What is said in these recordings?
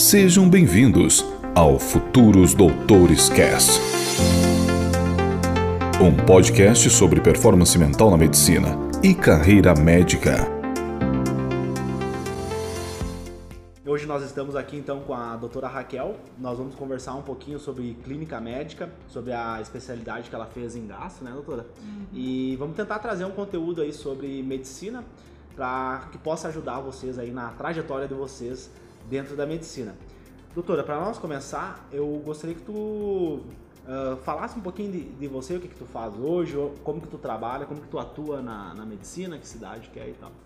Sejam bem-vindos ao Futuros Doutores Cast, um podcast sobre performance mental na medicina e carreira médica. Hoje nós estamos aqui então com a doutora Raquel. Nós vamos conversar um pouquinho sobre clínica médica, sobre a especialidade que ela fez em gastro, né, doutora? E vamos tentar trazer um conteúdo aí sobre medicina para que possa ajudar vocês aí na trajetória de vocês dentro da medicina. Doutora, para nós começar, eu gostaria que tu falasse um pouquinho de você, o que tu faz hoje, como que tu trabalha, como que tu atua na medicina, que cidade que é e tal.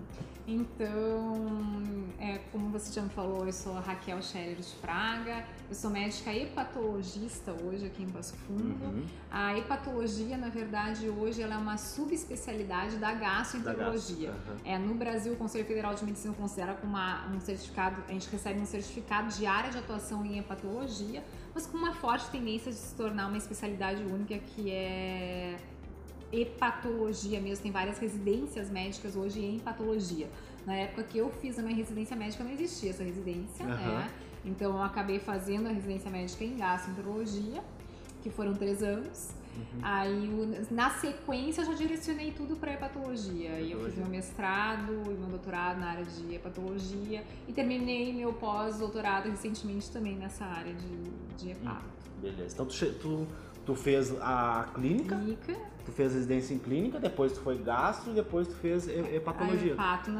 Então, como você já me falou, eu sou a Raquel Scherer de Fraga, eu sou médica hepatologista hoje aqui em Passo Fundo. A hepatologia, na verdade, hoje ela é uma subespecialidade da gastroenterologia. No Brasil, o Conselho Federal de Medicina considera como um certificado, a gente recebe um certificado de área de atuação em hepatologia, mas com uma forte tendência de se tornar uma especialidade única que é hepatologia mesmo. Tem várias residências médicas hoje em hepatologia. Na época que eu fiz a minha residência médica não existia essa residência, né? Então eu acabei fazendo a residência médica em gastroenterologia, que foram 3 anos. Aí na sequência eu já direcionei tudo para hepatologia. E eu fiz meu mestrado e meu doutorado na área de hepatologia e terminei meu pós-doutorado recentemente também nessa área de hepato. Beleza. Então tu fez a clínica, tu fez residência em clínica, depois tu foi gastro e depois tu fez hepatologia. Hepato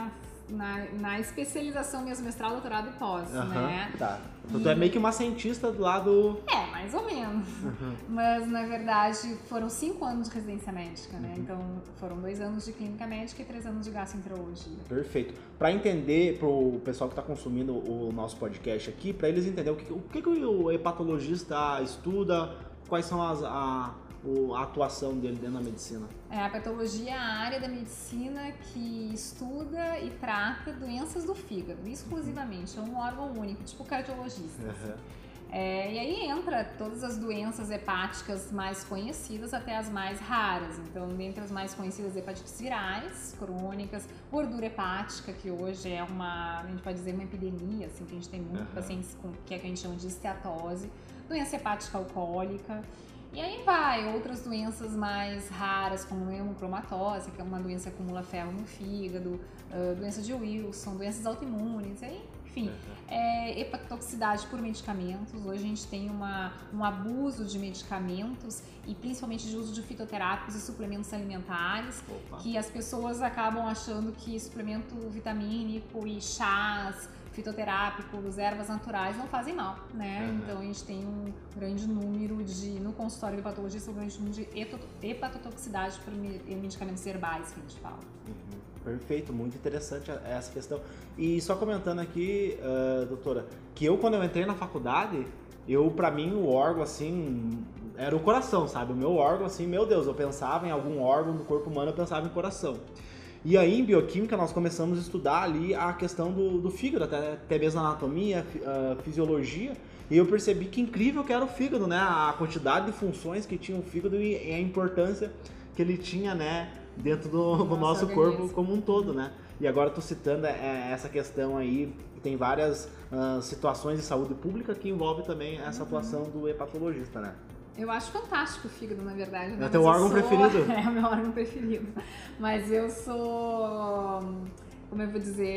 na especialização mesmo, mestrado, doutorado e pós, né? Tá. Então tu é meio que uma cientista do lado... mais ou menos. Mas, na verdade, foram 5 anos de residência médica, né? Então, foram 2 anos de clínica médica e 3 anos de gastroenterologia. Perfeito. Para entender, pro pessoal que está consumindo o nosso podcast aqui, para eles entenderem o que o hepatologista estuda, quais são a atuação dele dentro da medicina. A hepatologia é a área da medicina que estuda e trata doenças do fígado, exclusivamente. É um órgão único, tipo cardiologista. E aí entra todas as doenças hepáticas mais conhecidas até as mais raras. Então, dentre as mais conhecidas, hepatites virais, crônicas, gordura hepática, que hoje é a gente pode dizer uma epidemia, assim, que a gente tem muitos pacientes que a gente chama de esteatose, doença hepática alcoólica. E aí outras doenças mais raras, como hemocromatose, que é uma doença que acumula ferro no fígado, doença de Wilson, doenças autoimunes, enfim, hepatotoxicidade por medicamentos. Hoje a gente tem um abuso de medicamentos e principalmente de uso de fitoterápicos e suplementos alimentares, que as pessoas acabam achando que suplemento vitamínico e chás fitoterápicos, ervas naturais não fazem mal, né? Então a gente tem um grande número no consultório de hepatologista, um grande número de hepatotoxicidade por medicamentos herbais que a gente fala. Perfeito, muito interessante essa questão. E só comentando aqui, doutora, que quando eu entrei na faculdade, pra mim o órgão assim era o coração, sabe? O meu órgão assim, meu Deus, eu pensava em algum órgão do corpo humano, eu pensava em coração. E aí, em bioquímica, nós começamos a estudar ali a questão do fígado, até mesmo anatomia, fisiologia, e eu percebi que incrível que era o fígado, né? A quantidade de funções que tinha o fígado e a importância que ele tinha, né, dentro do nosso corpo como um todo, né? E agora estou citando essa questão aí, tem várias situações de saúde pública que envolve também essa atuação do hepatologista, né? Eu acho fantástico o fígado, na verdade. Né? É o teu órgão preferido? É o meu órgão preferido. Mas eu sou, como eu vou dizer,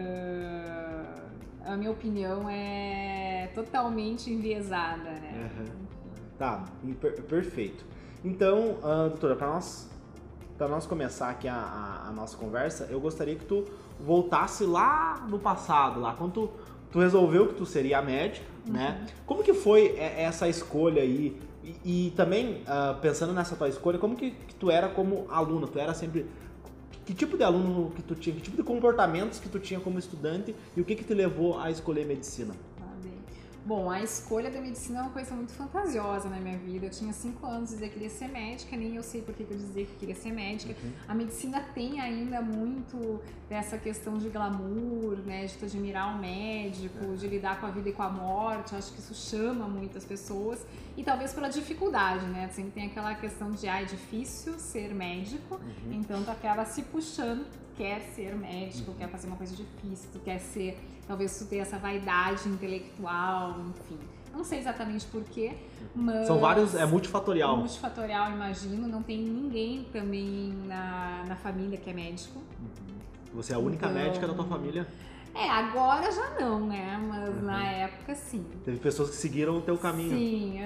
a minha opinião é totalmente enviesada, né? Tá, perfeito. Então, doutora, para nós começar aqui a nossa conversa, eu gostaria que tu voltasse lá no passado, lá quando tu resolveu que tu seria médica, né? Como que foi essa escolha aí? E também, pensando nessa tua escolha, como que tu era como aluna? Tu era sempre... Que tipo de aluno que tu tinha? Que tipo de comportamentos que tu tinha como estudante? E o que te levou a escolher medicina? Bom, a escolha da medicina é uma coisa muito fantasiosa na minha vida. Eu tinha 5 anos e dizia que queria ser médica, nem eu sei por que eu dizia que queria ser médica. A medicina tem ainda muito dessa questão de glamour, né, de tu admirar o médico, de lidar com a vida e com a morte. Eu acho que isso chama muitas pessoas. e talvez pela dificuldade, né? Sempre tem aquela questão de, é difícil ser médico, então tu acaba se puxando, quer ser médico, quer fazer uma coisa difícil, tu quer ser, talvez tu ter essa vaidade intelectual, enfim. Não sei exatamente porquê, mas... São vários, é multifatorial. Multifatorial, imagino. Não tem ninguém também na família que é médico. Você é a única médica da tua família? Agora já não, né? Mas na época, sim. Teve pessoas que seguiram o teu caminho. Sim,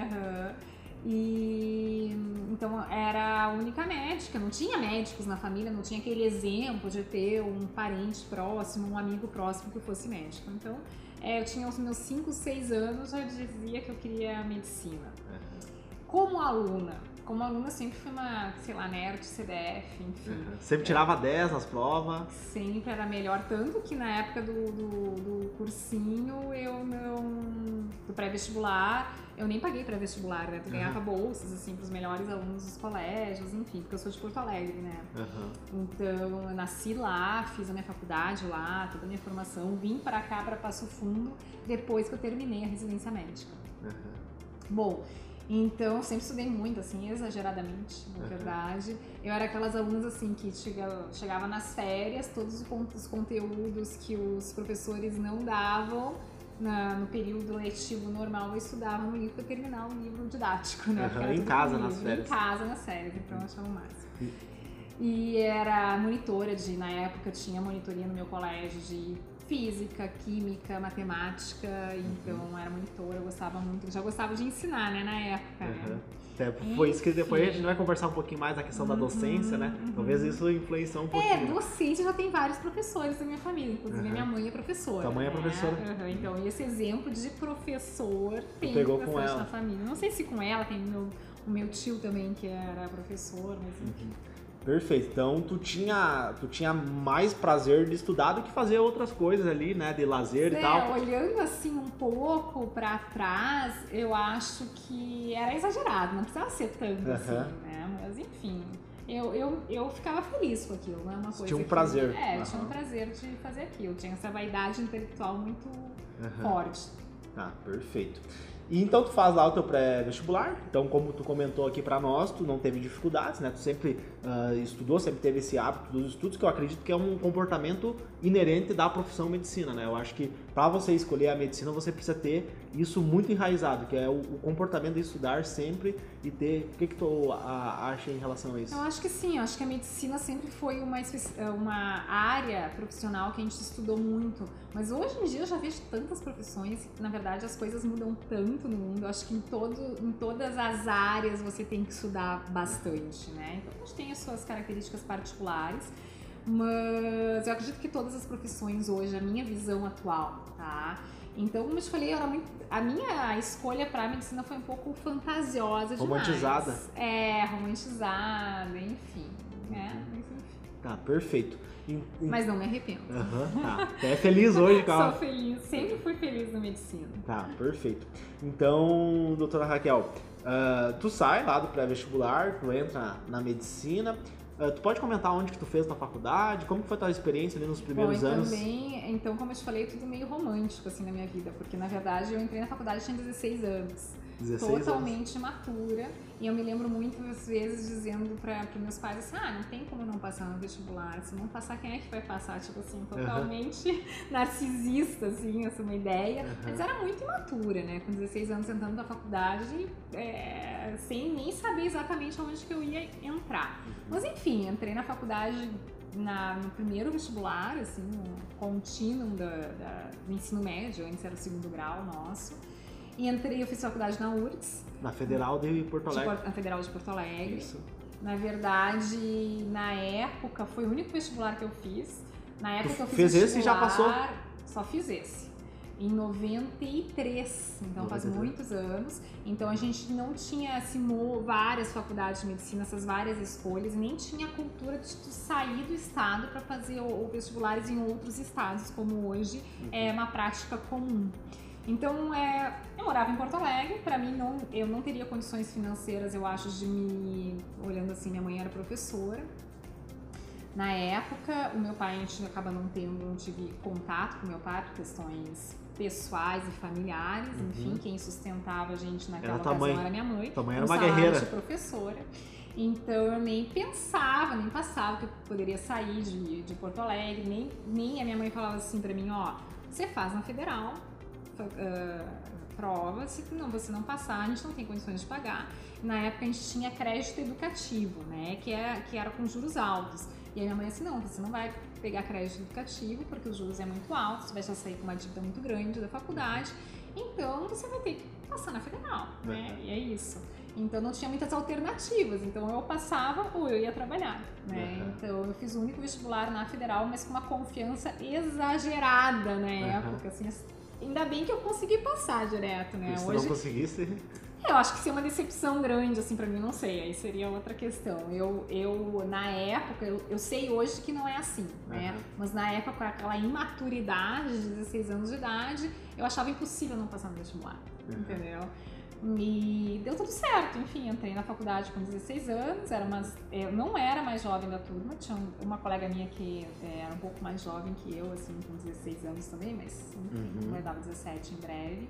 E então era a única médica, não tinha médicos na família, não tinha aquele exemplo de ter um parente próximo, um amigo próximo que fosse médico. Então, eu tinha os meus 5, 6 anos, já dizia que eu queria medicina. Como aluna sempre fui uma, sei lá, nerd, CDF, enfim. Sempre tirava 10 nas provas. Sempre era melhor, tanto que na época do cursinho, do pré-vestibular, eu nem paguei pré-vestibular, né? Tu ganhava bolsas, assim, pros melhores alunos dos colégios, enfim, porque eu sou de Porto Alegre, né? Então, eu nasci lá, fiz a minha faculdade lá, toda a minha formação, vim pra cá, pra Passo Fundo, depois que eu terminei a residência médica. Bom, então, eu sempre estudei muito, assim, exageradamente, na verdade. Eu era aquelas alunas, assim, que chegava nas férias, todos os conteúdos que os professores não davam no período letivo normal, eu estudava no livro para terminar o livro didático, né? Em casa, nas férias. Em casa, nas férias, então eu achava o máximo. E era monitora na época, tinha monitoria no meu colégio de física, química, matemática, então era monitora, eu gostava muito, já gostava de ensinar, né, na época, né? Foi isso que depois a gente vai conversar um pouquinho mais da questão da docência, né? Talvez isso influenciou um pouquinho. Docência já tem vários professores da minha família, inclusive a minha mãe é professora. Tua mãe é professora? Então, esse exemplo de professor tem bastante na família. Não sei se com ela, tem o meu tio também que era professor, mas enfim. Perfeito. Então, tu tinha mais prazer de estudar do que fazer outras coisas ali, né? De lazer e tal. Olhando assim um pouco pra trás, eu acho que era exagerado, não precisava ser tanto assim, né? Mas enfim, eu ficava feliz com aquilo, não é uma coisa. Tinha um prazer. Tinha um prazer de fazer aquilo. Tinha essa vaidade intelectual muito forte. Tá, perfeito. E então tu faz lá o teu pré-vestibular, então como tu comentou aqui pra nós, tu não teve dificuldades, né? Tu sempre estudou, sempre teve esse hábito dos estudos, que eu acredito que é um comportamento inerente da profissão medicina, né? Eu acho que pra você escolher a medicina, você precisa ter isso muito enraizado, que é o comportamento de estudar sempre e ter... O que tu acha em relação a isso? Eu acho que sim, eu acho que a medicina sempre foi uma área profissional que a gente estudou muito, mas hoje em dia eu já vejo tantas profissões, na verdade as coisas mudam tanto no mundo, eu acho que em todas as áreas você tem que estudar bastante, né? Então a gente tem as suas características particulares, mas eu acredito que todas as profissões hoje, a minha visão atual, tá? Então, como eu te falei, a minha escolha pra medicina foi um pouco fantasiosa demais. Romantizada? Romantizada, enfim, né? Tá, perfeito. Mas não me arrependo. Tá. Até feliz hoje, cara. Sou feliz, sempre fui feliz na medicina. Tá, perfeito. Então, doutora Raquel, tu sai lá do pré-vestibular, tu entra na medicina. Tu pode comentar onde que tu fez na faculdade? Como que foi a tua experiência ali nos primeiros anos? Então, como eu te falei, tudo meio romântico assim na minha vida, porque na verdade eu entrei na faculdade tinha 16 anos. 16 totalmente imatura, e eu me lembro muitas vezes dizendo para meus pais assim, não tem como não passar no vestibular, se não passar, quem é que vai passar? Tipo assim, totalmente narcisista, assim, essa é uma ideia, mas era muito imatura, né, com 16 anos entrando na faculdade, sem nem saber exatamente onde que eu ia entrar, mas enfim, entrei na faculdade no primeiro vestibular, assim, no contínuo do ensino médio, antes era o segundo grau nosso. E eu fiz faculdade na URGS. Na Federal de Porto Alegre. Na Federal de Porto Alegre. Isso. Na verdade, na época, foi o único vestibular que eu fiz. Na época eu fiz fez esse e já passou? Só fiz esse. Em 93, então faz muitos anos. Então a gente não tinha várias faculdades de medicina, essas várias escolhas, nem tinha a cultura de sair do estado para fazer vestibulares em outros estados, como hoje é uma prática comum. Então, eu morava em Porto Alegre, pra mim eu não teria condições financeiras, eu acho, olhando assim, minha mãe era professora. Na época, o meu pai, a gente acaba não tive contato com o meu pai por questões pessoais e familiares, enfim, quem sustentava a gente naquela Era ocasião era minha mãe. Tua mãe era uma guerreira. De professora. Então eu nem pensava, nem passava que eu poderia sair de Porto Alegre, nem a minha mãe falava assim pra mim, ó, você faz na Federal, prova, se você não passar, a gente não tem condições de pagar. Na época a gente tinha crédito educativo, né, que era com juros altos. E a minha mãe assim, não, você não vai pegar crédito educativo porque os juros é muito altos, você vai já sair com uma dívida muito grande da faculdade, então você vai ter que passar na Federal, né, e é isso. Então não tinha muitas alternativas, então eu passava ou eu ia trabalhar, né? Então eu fiz o único vestibular na Federal, mas com uma confiança exagerada na época, assim, ainda bem que eu consegui passar direto, né? E se hoje não conseguisse... Eu acho que seria uma decepção grande, assim, pra mim, não sei, aí seria outra questão. Na época, eu sei hoje que não é assim, né? Mas na época, com aquela imaturidade de 16 anos de idade, eu achava impossível não passar no vestibular, entendeu? E deu tudo certo, enfim, entrei na faculdade com 16 anos, eu não era mais jovem da turma, tinha uma colega minha que era um pouco mais jovem que eu, assim, com 16 anos também, mas vai dar 17 em breve.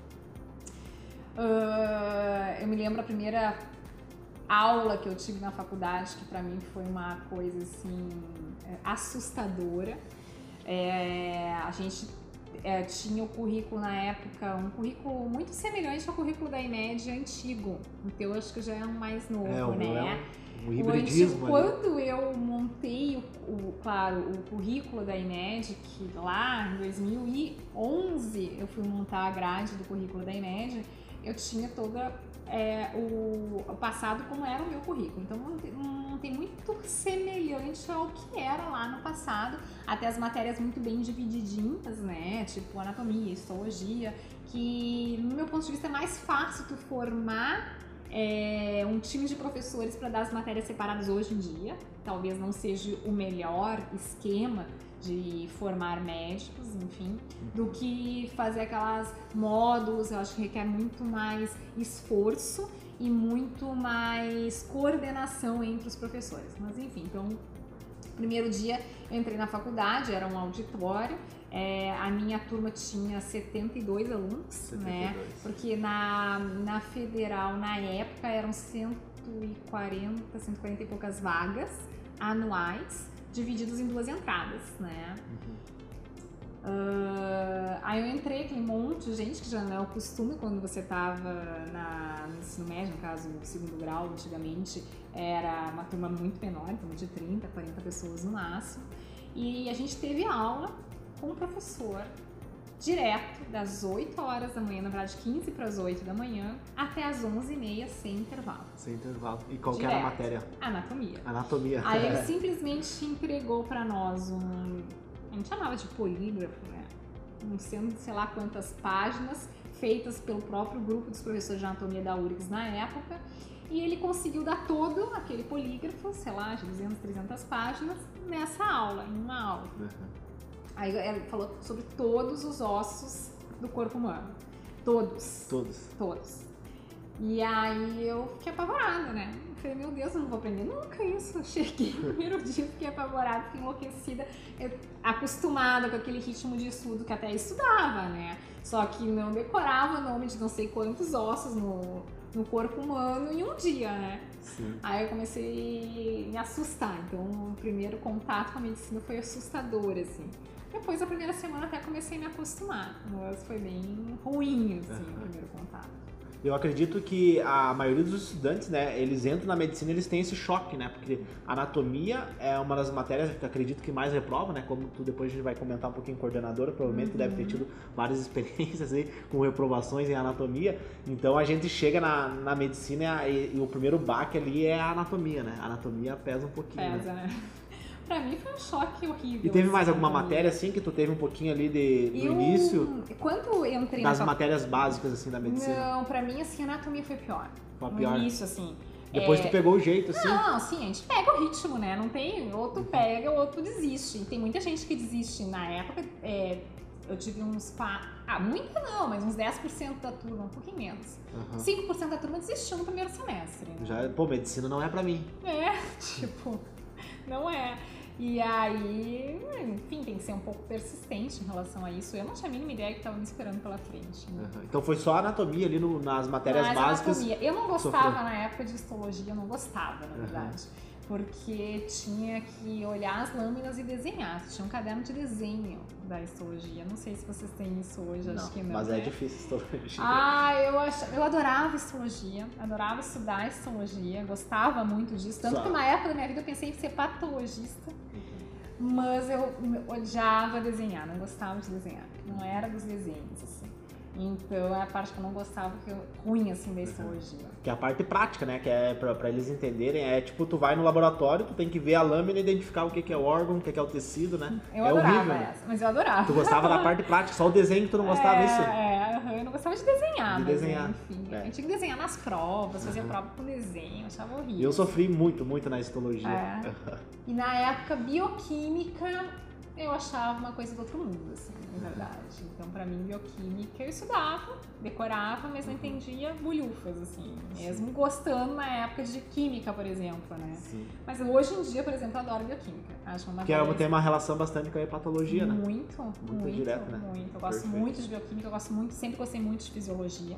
Eu me lembro a primeira aula que eu tive na faculdade, que pra mim foi uma coisa, assim, assustadora. A gente... tinha o currículo na época, um currículo muito semelhante ao currículo da IMED antigo, então eu acho que já é um mais novo, né? Um hibridismo. Quando eu montei o currículo da IMED, que lá em 2011 eu fui montar a grade do currículo da IMED, eu tinha toda o passado como era o meu currículo, então não tem muito semelhante ao que era lá no passado, até as matérias muito bem divididinhas, né, tipo anatomia, histologia, que no meu ponto de vista é mais fácil tu formar um time de professores para dar as matérias separadas hoje em dia, talvez não seja o melhor esquema de formar médicos, enfim, do que fazer aquelas módulos. Eu acho que requer muito mais esforço e muito mais coordenação entre os professores. Mas enfim, então, primeiro dia eu entrei na faculdade, era um auditório, a minha turma tinha 72 alunos, 72. Né? Porque na Federal, na época, eram 140 e poucas vagas anuais, divididos em 2 entradas, né? Aí eu entrei, aquele monte de gente, que já não é o costume quando você tava no ensino médio, no caso, no segundo grau, antigamente, era uma turma muito menor, turma de 30, 40 pessoas no máximo, e a gente teve aula com o professor direto das 8 horas da manhã, na verdade 15 para as 8 da manhã, até as 11h30, sem intervalo. Sem intervalo. E qual que era a matéria? Anatomia. Aí ele simplesmente entregou para nós a gente chamava de polígrafo, né? Não sei lá quantas páginas, feitas pelo próprio grupo dos professores de anatomia da URGS na época, e ele conseguiu dar todo aquele polígrafo, sei lá, de 200, 300 páginas, nessa aula, em uma aula. Aí ele falou sobre todos os ossos do corpo humano. Todos. E aí eu fiquei apavorada, né? Eu falei, meu Deus, eu não vou aprender nunca isso. Eu cheguei no primeiro dia, fiquei apavorada, fiquei enlouquecida, acostumada com aquele ritmo de estudo que até estudava, né? Só que não decorava o nome de não sei quantos ossos no corpo humano em um dia, né? Sim. Aí eu comecei a me assustar. Então o primeiro contato com a medicina foi assustador, assim. Depois da primeira semana até comecei a me acostumar, mas foi bem ruim, assim, o primeiro contato. Eu acredito que a maioria dos estudantes, né, eles entram na medicina e eles têm esse choque, né, porque anatomia é uma das matérias que eu acredito que mais reprova, né, como tu depois a gente vai comentar um pouquinho coordenadora, provavelmente tu deve ter tido várias experiências aí com reprovações em anatomia, então a gente chega na medicina e o primeiro baque ali é a anatomia, né, a anatomia pesa um pouquinho. Pesa, né? Pra mim foi um choque horrível. E teve mais alguma matéria, assim, que tu teve um pouquinho ali do início? Quando eu entrei das matérias básicas, assim, da medicina? Não, pra mim, assim, a anatomia foi pior. Foi pior? No início, assim. Depois tu pegou o jeito, assim? Não, assim, a gente pega o ritmo, né? Não tem, ou tu pega ou tu desiste. E tem muita gente que desiste. Na época, eu tive muita não, mas uns 10% da turma, um pouquinho menos. 5% da turma desistiu no primeiro semestre. Né? Medicina não é pra mim. Tipo... Não é. E aí, enfim, tem que ser um pouco persistente em relação a isso. Eu não tinha a mínima ideia que estava me esperando pela frente. Né? Então foi só anatomia ali nas matérias básicas? Anatomia. Eu não gostava na época de histologia, eu não gostava, na verdade. Porque tinha que olhar as lâminas e desenhar. Tinha um caderno de desenho da histologia. Não sei se vocês têm isso hoje, acho que não. Mas é difícil histologia. Eu adorava histologia, adorava estudar histologia, gostava muito disso. Tanto que na época da minha vida eu pensei em ser patologista. Mas eu odiava desenhar, não gostava de desenhar. Não era dos desenhos, assim. Então é a parte que eu não gostava, ruim assim da histologia. Que é a parte prática, né? Que é pra eles entenderem, é tipo, tu vai no laboratório, tu tem que ver a lâmina e identificar o que é o órgão, o que é o tecido, né? Eu adorava horrível, essa, mas eu adorava. Tu gostava da parte prática, só o desenho que tu não gostava disso? Eu não gostava de desenhar. Enfim, a gente tinha que desenhar nas provas, fazia prova com desenho, achava horrível. Eu sofri muito na histologia. E na época, bioquímica, eu achava uma coisa do outro mundo, assim, na verdade. Então, pra mim, bioquímica, eu estudava, decorava, mas não entendia bulhufas, assim. Mesmo gostando na época de química, por exemplo, né? Sim. Mas hoje em dia, por exemplo, eu adoro bioquímica. Acho uma coisa... tem uma relação bastante com a hepatologia, né? Muito direto, né? Muito. Eu gosto muito de bioquímica, sempre gostei muito de fisiologia.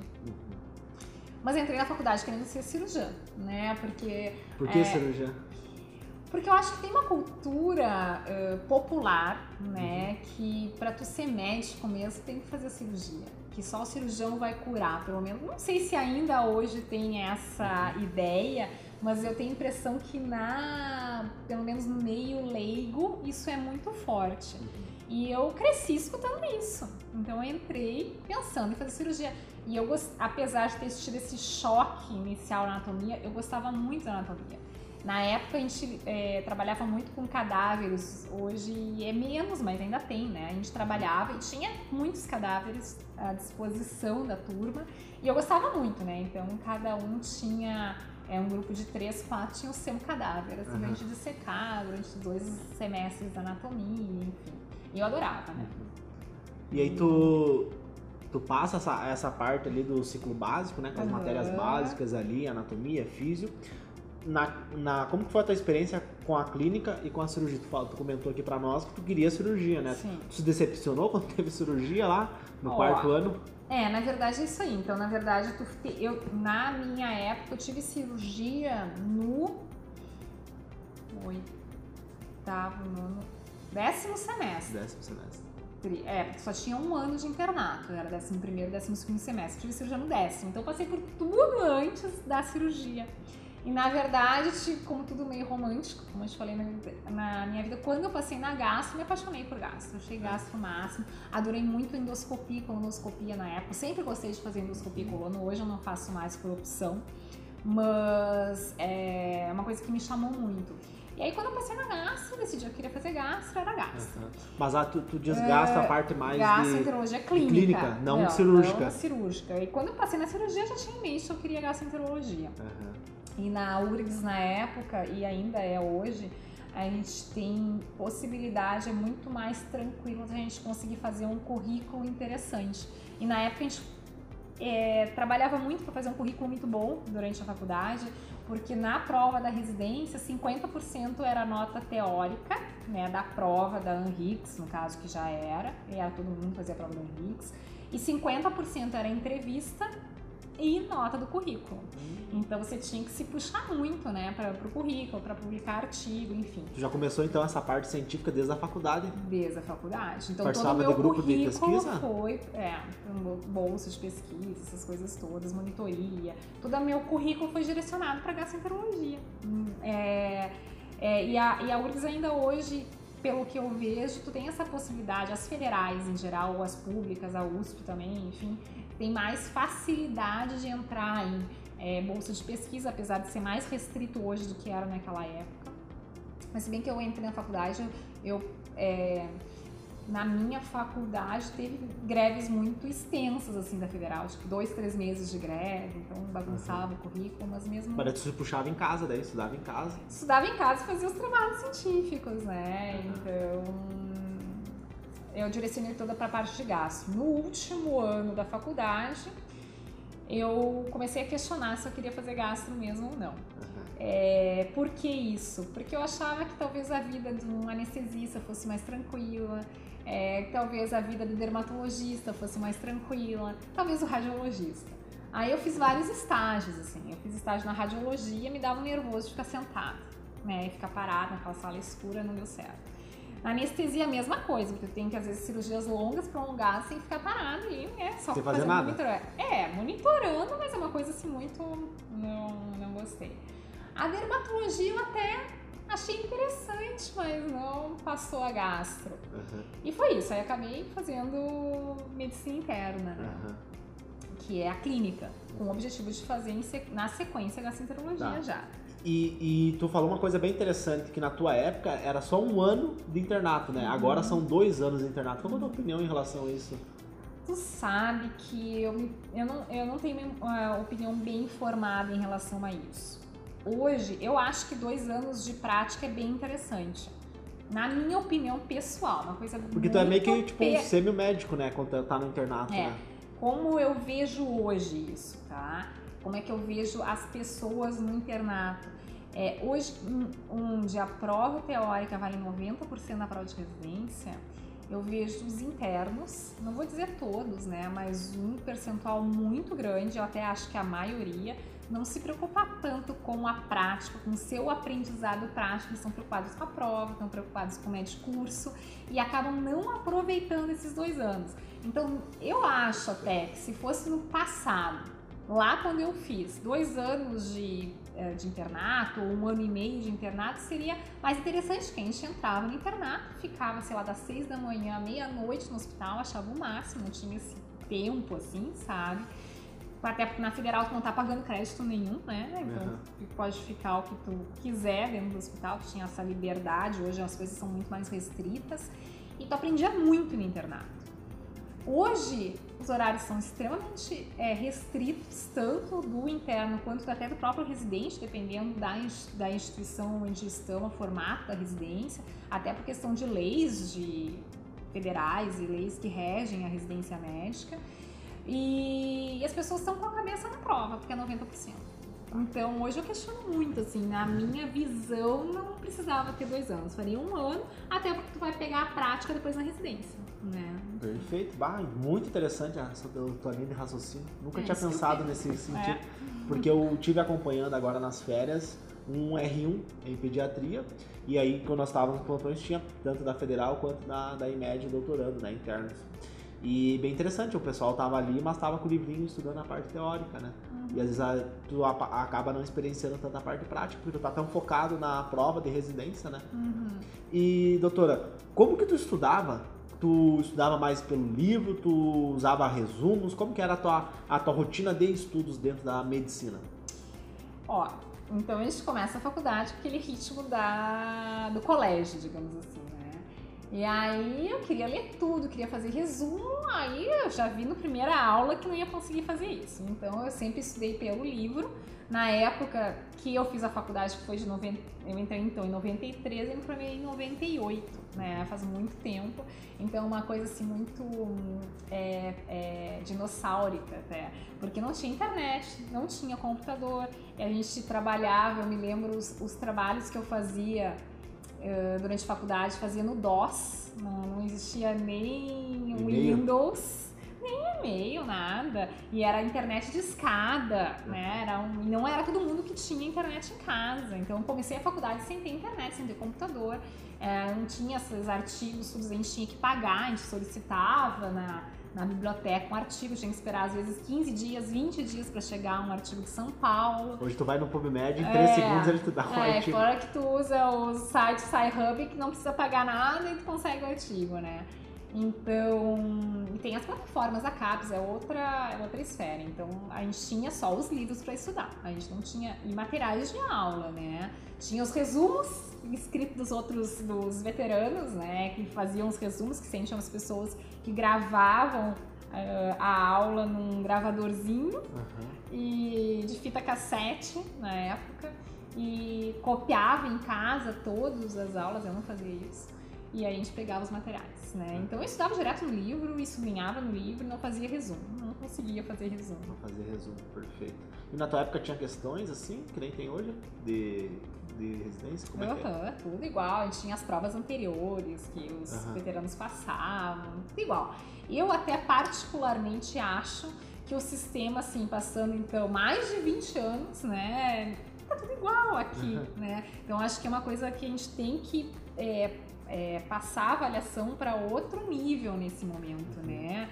Mas entrei na faculdade querendo ser cirurgiã, né? Por que cirurgiã? Porque eu acho que tem uma cultura popular, né, que pra tu ser médico mesmo tem que fazer cirurgia, que só o cirurgião vai curar, pelo menos. Não sei se ainda hoje tem essa ideia, mas eu tenho a impressão que pelo menos no meio leigo, isso é muito forte. E eu cresci escutando isso, então eu entrei pensando em fazer cirurgia. E eu, apesar de ter tido esse choque inicial na anatomia, eu gostava muito da anatomia. Na época a gente trabalhava muito com cadáveres, hoje é menos, mas ainda tem, né? A gente trabalhava e tinha muitos cadáveres à disposição da turma e eu gostava muito, né? Então cada um tinha, um grupo de 3, 4 tinha o seu cadáver, assim, pra gente dissecar durante 2 semestres da anatomia, enfim. E eu adorava, né? E aí tu passa essa parte ali do ciclo básico, né? Com as matérias básicas ali, anatomia, físio. Como que foi a tua experiência com a clínica e com a cirurgia? Tu comentou aqui pra nós que tu queria cirurgia, né? Sim. Tu se decepcionou quando teve cirurgia lá no 4º ano? Na verdade é isso aí. Então, na verdade, na minha época eu tive cirurgia no 8º, 10º semestre. 10º semestre. Porque só tinha 1 ano de internato, era 11º, 12º semestre. Tive cirurgia no 10º, então eu passei por tudo antes da cirurgia. E na verdade, como tudo meio romântico, como eu te falei na minha vida, quando eu passei na gastro, me apaixonei por gastro. Achei gastro o máximo. Adorei muito endoscopia e colonoscopia na época. Sempre gostei de fazer endoscopia e colono. Hoje eu não faço mais por opção. Mas é uma coisa que me chamou muito. E aí quando eu passei na gastro, decidi que eu queria fazer gastro, era gastro. Mas tu diz gastro a parte mais gastroenterologia clínica. Não cirúrgica. Não cirúrgica. E quando eu passei na cirurgia, eu já tinha em mente que eu queria gastroenterologia. E na URGS na época, e ainda é hoje, a gente tem possibilidade, é muito mais tranquilo da gente conseguir fazer um currículo interessante. E na época a gente trabalhava muito para fazer um currículo muito bom durante a faculdade, porque na prova da residência, 50% era nota teórica, né, da prova da ANRICS, no caso que já era todo mundo fazia a prova da ANRICS, e 50% era entrevista e nota do currículo. Então você tinha que se puxar muito, né, para o currículo, para publicar artigo, enfim. Tu já começou então essa parte científica desde a faculdade? Desde a faculdade. Então participava todo o meu de grupo de pesquisa? Foi bolsa de pesquisa, essas coisas todas, monitoria. Todo o meu currículo foi direcionado para gastroenterologia. E a URGS ainda hoje, pelo que eu vejo, tu tem essa possibilidade, as federais em geral, ou as públicas, a USP também, enfim, tem mais facilidade de entrar em bolsa de pesquisa, apesar de ser mais restrito hoje do que era naquela época. Mas se bem que eu entrei na faculdade, na minha faculdade teve greves muito extensas assim da federal, tipo 2, 3 meses de greve, então bagunçava o currículo, mas mesmo... Mas tu se puxava em casa daí, estudava em casa? Estudava em casa e fazia os trabalhos científicos, né, então... Eu direcionei toda para a parte de gasto. No último ano da faculdade, eu comecei a questionar se eu queria fazer gastro mesmo ou não. Por que isso? Porque eu achava que talvez a vida de um anestesista fosse mais tranquila, talvez a vida do dermatologista fosse mais tranquila, talvez o radiologista. Aí eu fiz vários estágios, assim. Eu fiz estágio na radiologia, me dava um nervoso de ficar sentada, né? E ficar parada naquela sala escura, não deu certo. Na anestesia, a mesma coisa, porque eu tenho que, às vezes, cirurgias longas, prolongadas, sem ficar parado e só sem fazer nada. Monitorando, mas é uma coisa assim muito... Não gostei. A dermatologia eu até achei interessante, mas não passou a gastro. E foi isso, aí acabei fazendo medicina interna, né? Que é a clínica, com o objetivo de fazer na sequência gastroenterologia já. E tu falou uma coisa bem interessante, que na tua época era só 1 ano de internato, né? Agora são 2 anos de internato. Qual é a tua opinião em relação a isso? Tu sabe que eu não tenho uma opinião bem formada em relação a isso. Hoje, eu acho que 2 anos de prática é bem interessante. Na minha opinião pessoal, uma coisa muito... Porque tu é meio que tipo um semi-médico, né? Quando tá no internato, né? Como eu vejo hoje isso, tá? Como é que eu vejo as pessoas no internato? Hoje, onde a prova teórica vale 90% da prova de residência, eu vejo os internos, não vou dizer todos, né? Mas um percentual muito grande, eu até acho que a maioria, não se preocupa tanto com a prática, com o seu aprendizado prático, estão preocupados com a prova, estão preocupados com o médio curso e acabam não aproveitando esses 2 anos. Então, eu acho até que se fosse no passado, lá quando eu fiz 2 anos de internato, ou 1 ano e meio de internato, seria mais interessante, que a gente entrava no internato, ficava, sei lá, das 6 da manhã à meia-noite no hospital, achava o máximo, não tinha esse tempo assim, sabe? Até porque na federal tu não tá pagando crédito nenhum, né? Então tu pode ficar o que tu quiser dentro do hospital, tu tinha essa liberdade, hoje as coisas são muito mais restritas e tu aprendia muito no internato. Hoje, os horários são extremamente restritos, tanto do interno quanto até do próprio residente, dependendo da instituição onde estão, o formato da residência, até por questão de leis federais e leis que regem a residência médica. E as pessoas estão com a cabeça na prova, porque é 90%. Então, hoje eu questiono muito, assim, na minha visão, não precisava ter 2 anos, faria 1 ano, até porque tu vai pegar a prática depois na residência, né? Perfeito, muito interessante essa tua linha de raciocínio, nunca tinha pensado nesse sentido, porque eu tive acompanhando agora nas férias um R1 em pediatria, e aí quando nós estávamos nos plantões tinha tanto da federal quanto da IMED doutorando, né, internos. E bem interessante, o pessoal tava ali, mas tava com o livrinho estudando a parte teórica, né? E às vezes tu acaba não experienciando tanta parte prática, porque tu tá tão focado na prova de residência, né? E, doutora, como que tu estudava? Tu estudava mais pelo livro, tu usava resumos? Como que era a tua rotina de estudos dentro da medicina? Então a gente começa a faculdade com aquele ritmo do colégio, digamos assim, né? E aí eu queria ler tudo, queria fazer resumo, aí eu já vi na primeira aula que não ia conseguir fazer isso. Então eu sempre estudei pelo livro. Na época que eu fiz a faculdade, que foi eu entrei então em 93 e me formei em 98, né? Faz muito tempo. Então uma coisa assim muito dinossáurica até, porque não tinha internet, não tinha computador, e a gente trabalhava, eu me lembro os trabalhos que eu fazia durante a faculdade, fazia no DOS, não existia nem Windows, nem e-mail, nada, e era internet de escada, né? Não era todo mundo que tinha internet em casa, então eu comecei a faculdade sem ter internet, sem ter computador, não tinha esses artigos, tudo, a gente tinha que pagar, a gente solicitava na biblioteca um artigo, tinha que esperar às vezes 15 dias, 20 dias para chegar um artigo de São Paulo. Hoje tu vai no PubMed, em 3 segundos ele te dá um artigo. Fora que tu usa o site Sci-Hub, que não precisa pagar nada e tu consegue o artigo, né? Então, e tem as plataformas da CAPES, é outra esfera. Então, a gente tinha só os livros para estudar, a gente não tinha materiais de aula, né? Tinha os resumos escritos dos veteranos, né? Que faziam os resumos, que sentiam as pessoas que gravavam a aula num gravadorzinho e de fita cassete na época e copiava em casa todas as aulas, eu não fazia isso. e aí a gente pegava os materiais, né? Então eu estudava direto no livro, e sublinhava no livro, não fazia resumo, não conseguia fazer resumo. Não fazia resumo, perfeito. E na tua época tinha questões assim, que nem tem hoje, de residência? Como é que é? Tudo igual, a gente tinha as provas anteriores que os veteranos passavam, tudo igual. Eu até particularmente acho que o sistema, assim, passando então mais de 20 anos, né, tá tudo igual aqui, né? Então acho que é uma coisa que a gente tem que passar a avaliação para outro nível nesse momento, né?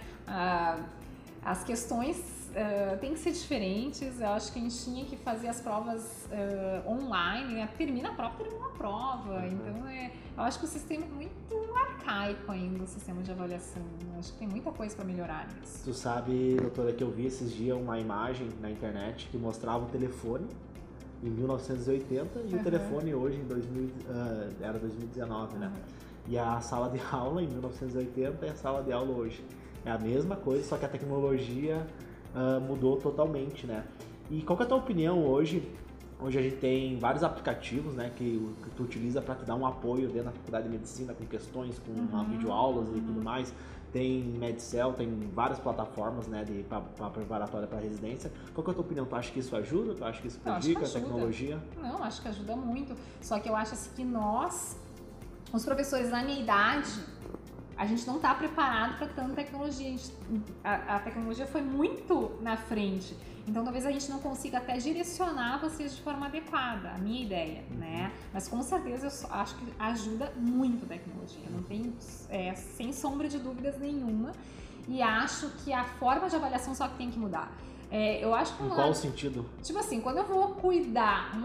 As questões têm que ser diferentes. Eu acho que a gente tinha que fazer as provas online, né? Termina a prova. Então, eu acho que o sistema é muito arcaico ainda, o sistema de avaliação. Eu acho que tem muita coisa para melhorar nisso. Tu sabe, doutora, que eu vi esses dias uma imagem na internet que mostrava o telefone em 1980 e o telefone hoje em era 2019, né? E a sala de aula em 1980 e a sala de aula hoje. É a mesma coisa, só que a tecnologia mudou totalmente, né? E qual que é a tua opinião hoje? Hoje a gente tem vários aplicativos, né, que tu utiliza para te dar um apoio dentro da faculdade de medicina, com questões, com videoaulas e tudo mais. Tem Medcel, tem várias plataformas, né, para preparatória para residência. Qual que é a tua opinião? Tu acha que isso ajuda? Tu acha que isso prejudica a tecnologia? Não, acho que ajuda muito. Só que eu acho assim, que nós, os professores da minha idade, a gente não está preparado para tanta tecnologia. A tecnologia foi muito na frente. Então, talvez a gente não consiga até direcionar vocês de forma adequada, a minha ideia, né? Mas, com certeza, eu acho que ajuda muito a tecnologia. Não tenho, sem sombra de dúvidas nenhuma. E acho que a forma de avaliação só que tem que mudar. Eu acho que em qual sentido? Tipo assim, quando eu vou cuidar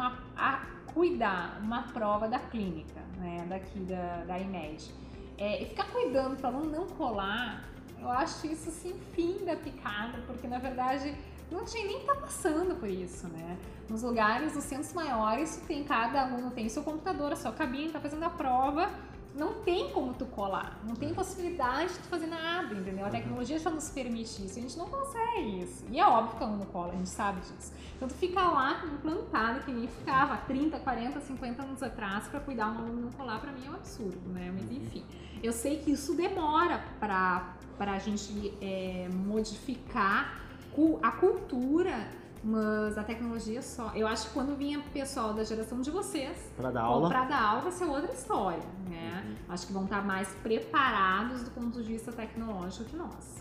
uma prova da clínica, né? Daqui da IMED, e ficar cuidando para aluno não colar, eu acho isso assim, fim da picada, porque na verdade não tinha nem que estar passando por isso, né? Nos lugares, nos centros maiores, cada aluno tem o seu computador, a sua cabine, tá fazendo a prova, não tem como tu colar, não tem possibilidade de tu fazer nada, entendeu? A tecnologia já nos permite isso, a gente não consegue isso. E é óbvio que o aluno cola, a gente sabe disso. Então tu fica lá implantado, que nem ficava 30, 40, 50 anos atrás para cuidar um aluno não colar, para mim é um absurdo, né? Mas enfim, eu sei que isso demora pra gente modificar a cultura, mas a tecnologia só. Eu acho que quando vinha pessoal da geração de vocês para dar aula vai ser outra história, né? Acho que vão estar mais preparados do ponto de vista tecnológico que nós.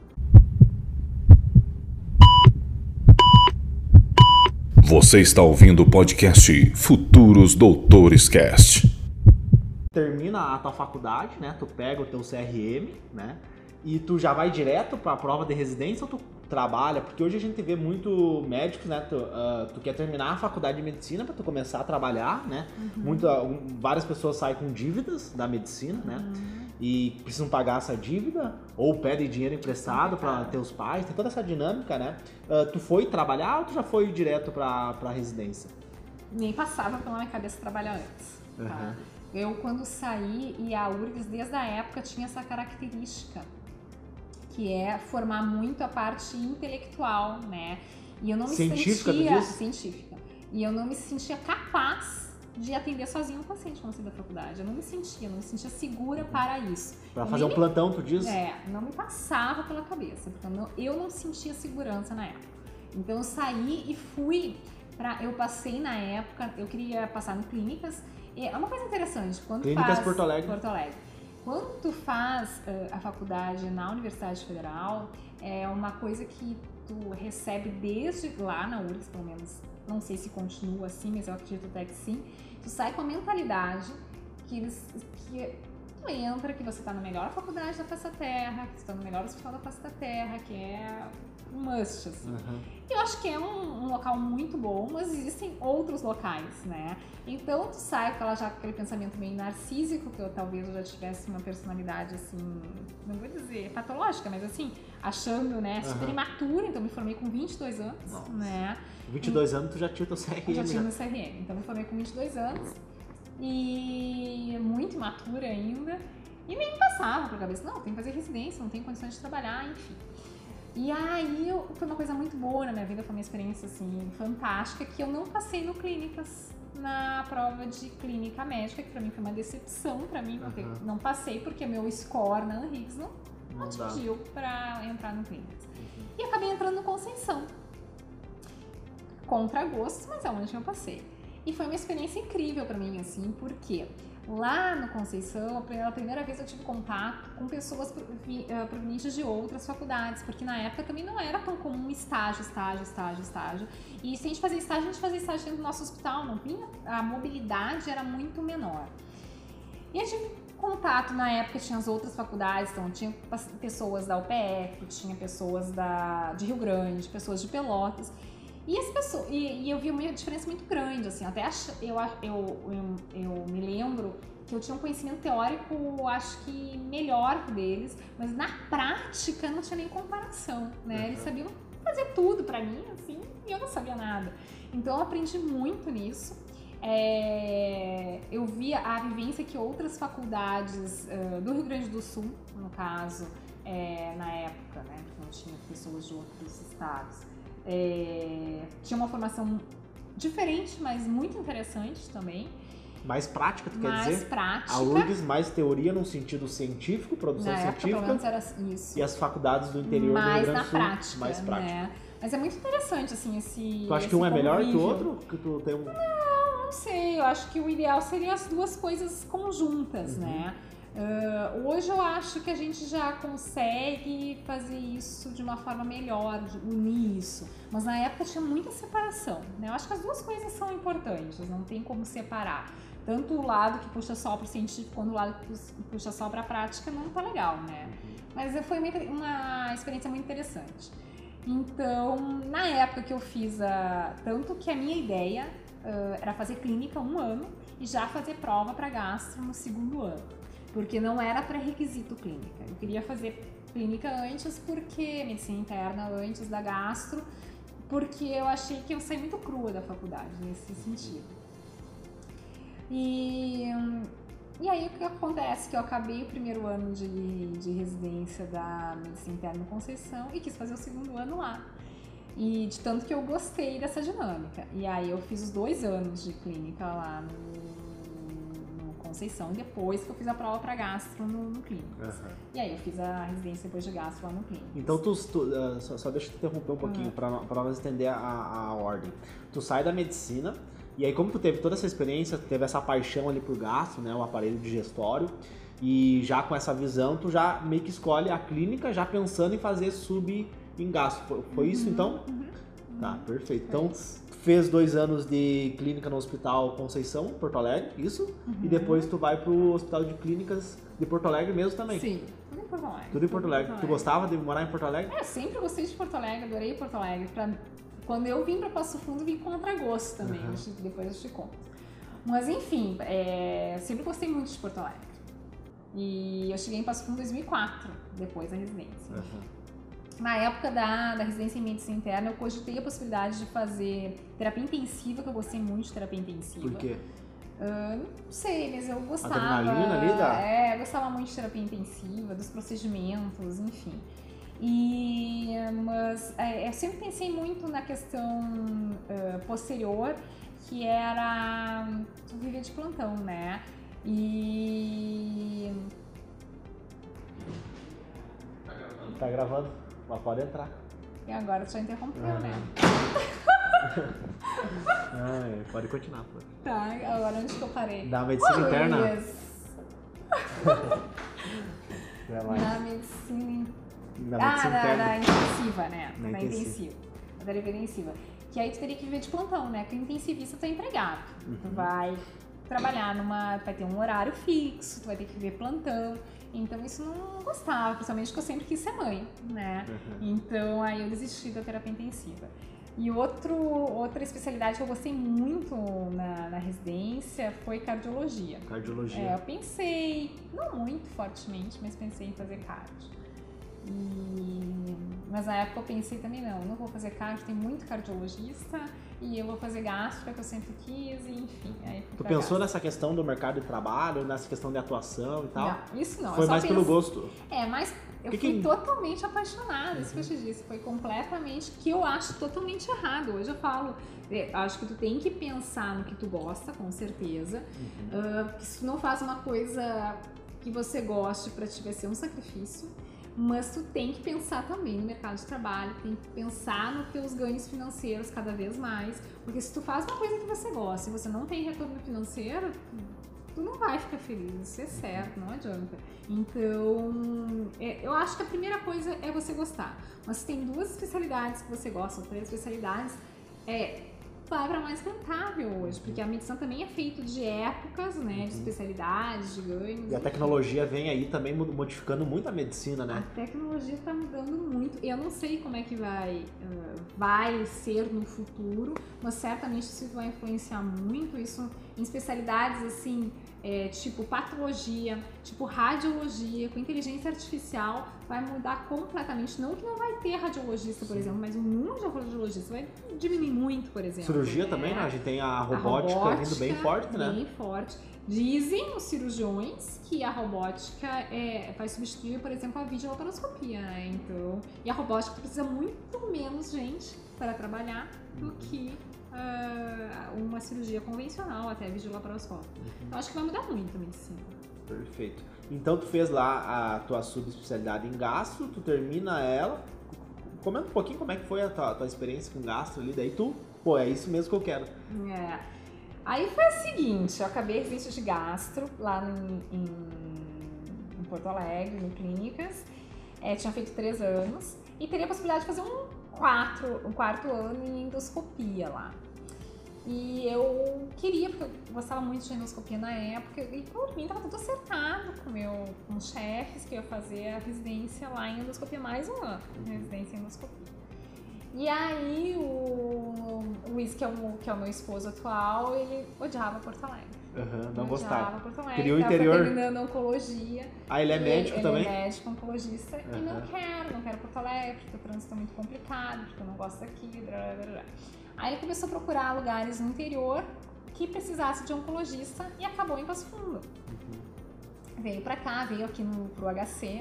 Você está ouvindo o podcast Futuros Doutores Cast. Termina a tua faculdade, né? Tu pega o teu CRM, né? E tu já vai direto para a prova de residência ou tu trabalha? Porque hoje a gente vê muito médicos, né? Tu quer terminar a faculdade de medicina para tu começar a trabalhar, né? Várias pessoas saem com dívidas da medicina, né? E precisam pagar essa dívida ou pedem dinheiro emprestado para teus pais. Tem toda essa dinâmica, né? Tu foi trabalhar ou tu já foi direto para a residência? Nem passava pela minha cabeça trabalhar antes. Tá? Eu, quando saí, e a URGS desde a época tinha essa característica, que é formar muito a parte intelectual, né? E eu não me científica. E eu não me sentia capaz de atender sozinho um paciente quando eu saí da faculdade. Eu não me sentia segura para isso. Para fazer um plantão, tu diz? Não me passava pela cabeça, porque eu não sentia segurança na época. Então eu saí e fui eu passei na época, eu queria passar no Clínicas. É uma coisa interessante, Clínicas Porto Alegre. Quando tu faz a faculdade na Universidade Federal, é uma coisa que tu recebe desde lá na URGS, pelo menos, não sei se continua assim, mas eu acredito até que sim. Tu sai com a mentalidade que tu entra, que você tá na melhor faculdade da face da Terra, que você tá no melhor hospital da face da Terra, que é um must, assim. Eu acho que é um local muito bom, mas existem outros locais, né? Então tu sai com aquele pensamento meio narcísico, que talvez eu já tivesse uma personalidade assim, não vou dizer patológica, mas assim, achando, né, super imatura. Então me formei com 22 anos. Nossa. Né? 22 anos tu já tinha o teu CRM. Eu já tinha meu CRM, então me formei com 22 anos e muito imatura ainda. E nem me passava pra cabeça, não, tem que fazer residência, não tem condições de trabalhar, enfim. E aí foi uma coisa muito boa na minha vida, foi uma experiência assim fantástica, que eu não passei no Clínicas na prova de clínica médica, que pra mim foi uma decepção, pra mim, porque não passei, porque meu score na Unrix não atingiu pra entrar no clínicas. E acabei entrando no Conceição. Contra gosto, mas é onde eu passei. E foi uma experiência incrível pra mim, assim, porque lá no Conceição, pela primeira vez eu tive contato com pessoas provenientes de outras faculdades, porque na época também não era tão comum estágio. E se a gente fazia estágio dentro do nosso hospital, não tinha, a mobilidade era muito menor. E eu tive contato, na época tinha as outras faculdades, então tinha pessoas da UPF, tinha pessoas de Rio Grande, pessoas de Pelotas. E as pessoas, e eu vi uma diferença muito grande, assim, até eu me lembro que eu tinha um conhecimento teórico, acho que melhor que o deles, mas na prática não tinha nem comparação, né? Eles sabiam fazer tudo pra mim, assim, e eu não sabia nada. Então eu aprendi muito nisso. Eu via a vivência que outras faculdades do Rio Grande do Sul, no caso, na época, né, porque não tinha pessoas de outros estados, tinha uma formação diferente, mas muito interessante também. Mais prática, tu quer dizer? Mais prática. A URGS mais teoria num sentido científico, produção na científica. Época, pelo menos era isso. E as faculdades do interior do Rio Grande do Sul, prática, mais prática. Né? Mas é muito interessante, assim, esse Tu acha que um é melhor que o outro? Que tu tem Não sei, eu acho que o ideal seria as duas coisas conjuntas, né? Hoje eu acho que a gente já consegue fazer isso de uma forma melhor, de unir isso. Mas na época tinha muita separação, né? Eu acho que as duas coisas são importantes, não tem como separar. Tanto o lado que puxa só para o científico, quanto o lado que puxa só para a prática, não tá legal, né? Mas foi uma experiência muito interessante. Então, na época que eu fiz, tanto que a minha ideia era fazer clínica 1 ano e já fazer prova para gastro no 2º ano. Porque não era pré-requisito clínica. Eu queria fazer clínica antes, porque medicina interna antes da gastro, porque eu achei que eu saí muito crua da faculdade nesse sentido. E aí o que acontece? Que eu acabei o 1º ano de residência da medicina interna no Conceição e quis fazer o 2º ano lá. E de tanto que eu gostei dessa dinâmica. E aí eu fiz os 2 anos de clínica lá no Conceição, depois que eu fiz a prova para gastro no Clínicas. E aí eu fiz a residência depois de gastro lá no Clínicas. Então só deixa eu te interromper um pouquinho para nós entender a ordem. Tu sai da medicina e aí como tu teve toda essa experiência, tu teve essa paixão ali por gastro, né, o aparelho digestório, e já com essa visão tu já meio que escolhe a clínica já pensando em fazer sub em gastro. Foi isso então? Tá, perfeito. Então fez 2 anos de clínica no Hospital Conceição, Porto Alegre, isso? E depois tu vai pro Hospital de Clínicas de Porto Alegre mesmo também? Sim, tudo em Porto Alegre. Tudo em Porto Alegre. Tu gostava de morar em Porto Alegre? Eu sempre gostei de Porto Alegre, adorei Porto Alegre. Quando eu vim pra Passo Fundo, vim contra gosto também, depois eu te conto. Mas enfim, eu sempre gostei muito de Porto Alegre. E eu cheguei em Passo Fundo em 2004, depois da residência. Na época da residência em medicina interna, eu cogitei a possibilidade de fazer terapia intensiva, que eu gostei muito de terapia intensiva. Por quê? Não sei, mas eu gostava. Adrenalina ali eu gostava muito de terapia intensiva, dos procedimentos, enfim. Mas eu sempre pensei muito na questão posterior, que era viver de plantão, né? Tá gravando? Mas pode entrar. E agora tu já interrompeu, né? Pode continuar, pô. Tá, agora onde que eu parei? Da medicina interna? Na medicina... interna. Intensiva, né? Na intensiva. Na terapia intensiva. Que aí tu teria que viver de plantão, né? Porque o intensivista tu é empregado. Tu vai trabalhar vai ter um horário fixo, tu vai ter que viver plantão. Então isso não gostava, principalmente porque eu sempre quis ser mãe, né? Então aí eu desisti da terapia intensiva. E outra especialidade que eu gostei muito na residência foi cardiologia. Cardiologia. Eu pensei, não muito fortemente, mas pensei em fazer cardio. Mas na época eu pensei também, não vou fazer cardio, tem muito cardiologista e eu vou fazer gastro, que eu sempre quis, e enfim. Aí Tu pensou nessa questão do mercado de trabalho, nessa questão de atuação e tal? Não, isso não. Foi mais pelo gosto? Mas eu fui totalmente apaixonada, isso que eu te disse. Foi completamente, que eu acho totalmente errado. Hoje eu falo, acho que tu tem que pensar no que tu gosta, com certeza. Que se tu não faz uma coisa que você goste, pra ti vai ser um sacrifício. Mas tu tem que pensar também no mercado de trabalho, tem que pensar nos teus ganhos financeiros cada vez mais, porque se tu faz uma coisa que você gosta e você não tem retorno financeiro, tu não vai ficar feliz, isso é certo, não adianta. Então, eu acho que a primeira coisa é você gostar. Mas se tem 2 especialidades que você gosta, ou 3 especialidades, vai para mais rentável hoje, porque a medicina também é feita de épocas, né, de especialidades, de ganhos. E a tecnologia vem aí também modificando muito a medicina, né? A tecnologia está mudando muito. Eu não sei como é que vai ser no futuro, mas certamente isso vai influenciar muito. Isso em especialidades assim, tipo patologia, tipo radiologia, com inteligência artificial, vai mudar completamente. Não que não vai ter radiologista, por exemplo, mas o número de radiologistas vai diminuir muito, por exemplo. Cirurgia também, né? A gente tem a robótica vindo bem forte, né? Bem forte. Dizem os cirurgiões que a robótica vai substituir, por exemplo, a videolaparoscopia, né? Então, e a robótica precisa muito menos gente para trabalhar do que uma cirurgia convencional, até a videolaparoscópia. Então, acho que vai mudar muito a medicina. Perfeito. Então, tu fez lá a tua subespecialidade em gastro, tu termina ela. Comenta um pouquinho como é que foi a tua experiência com gastro ali, daí tu, é isso mesmo que eu quero. Aí foi o seguinte, eu acabei residência de gastro lá em Porto Alegre, em clínicas, tinha feito 3 anos e teria a possibilidade de fazer um quarto ano em endoscopia lá. E eu queria, porque eu gostava muito de endoscopia na época, e por mim estava tudo acertado com os chefes, que eu ia fazer a residência lá em endoscopia, mais um ano, residência em endoscopia. E aí o Luiz, que é o meu esposo atual, ele odiava Porto Alegre. Não gostava. Odiava Porto Alegre. Queria o interior. Terminando oncologia. Ele é médico também? Ele é médico, oncologista. E não quero Porto Alegre, porque o trânsito é muito complicado, porque eu não gosto daqui, blá, blá, blá. Aí ele começou a procurar lugares no interior que precisasse de oncologista e acabou em Passo Fundo. Veio pra cá, veio aqui pro HC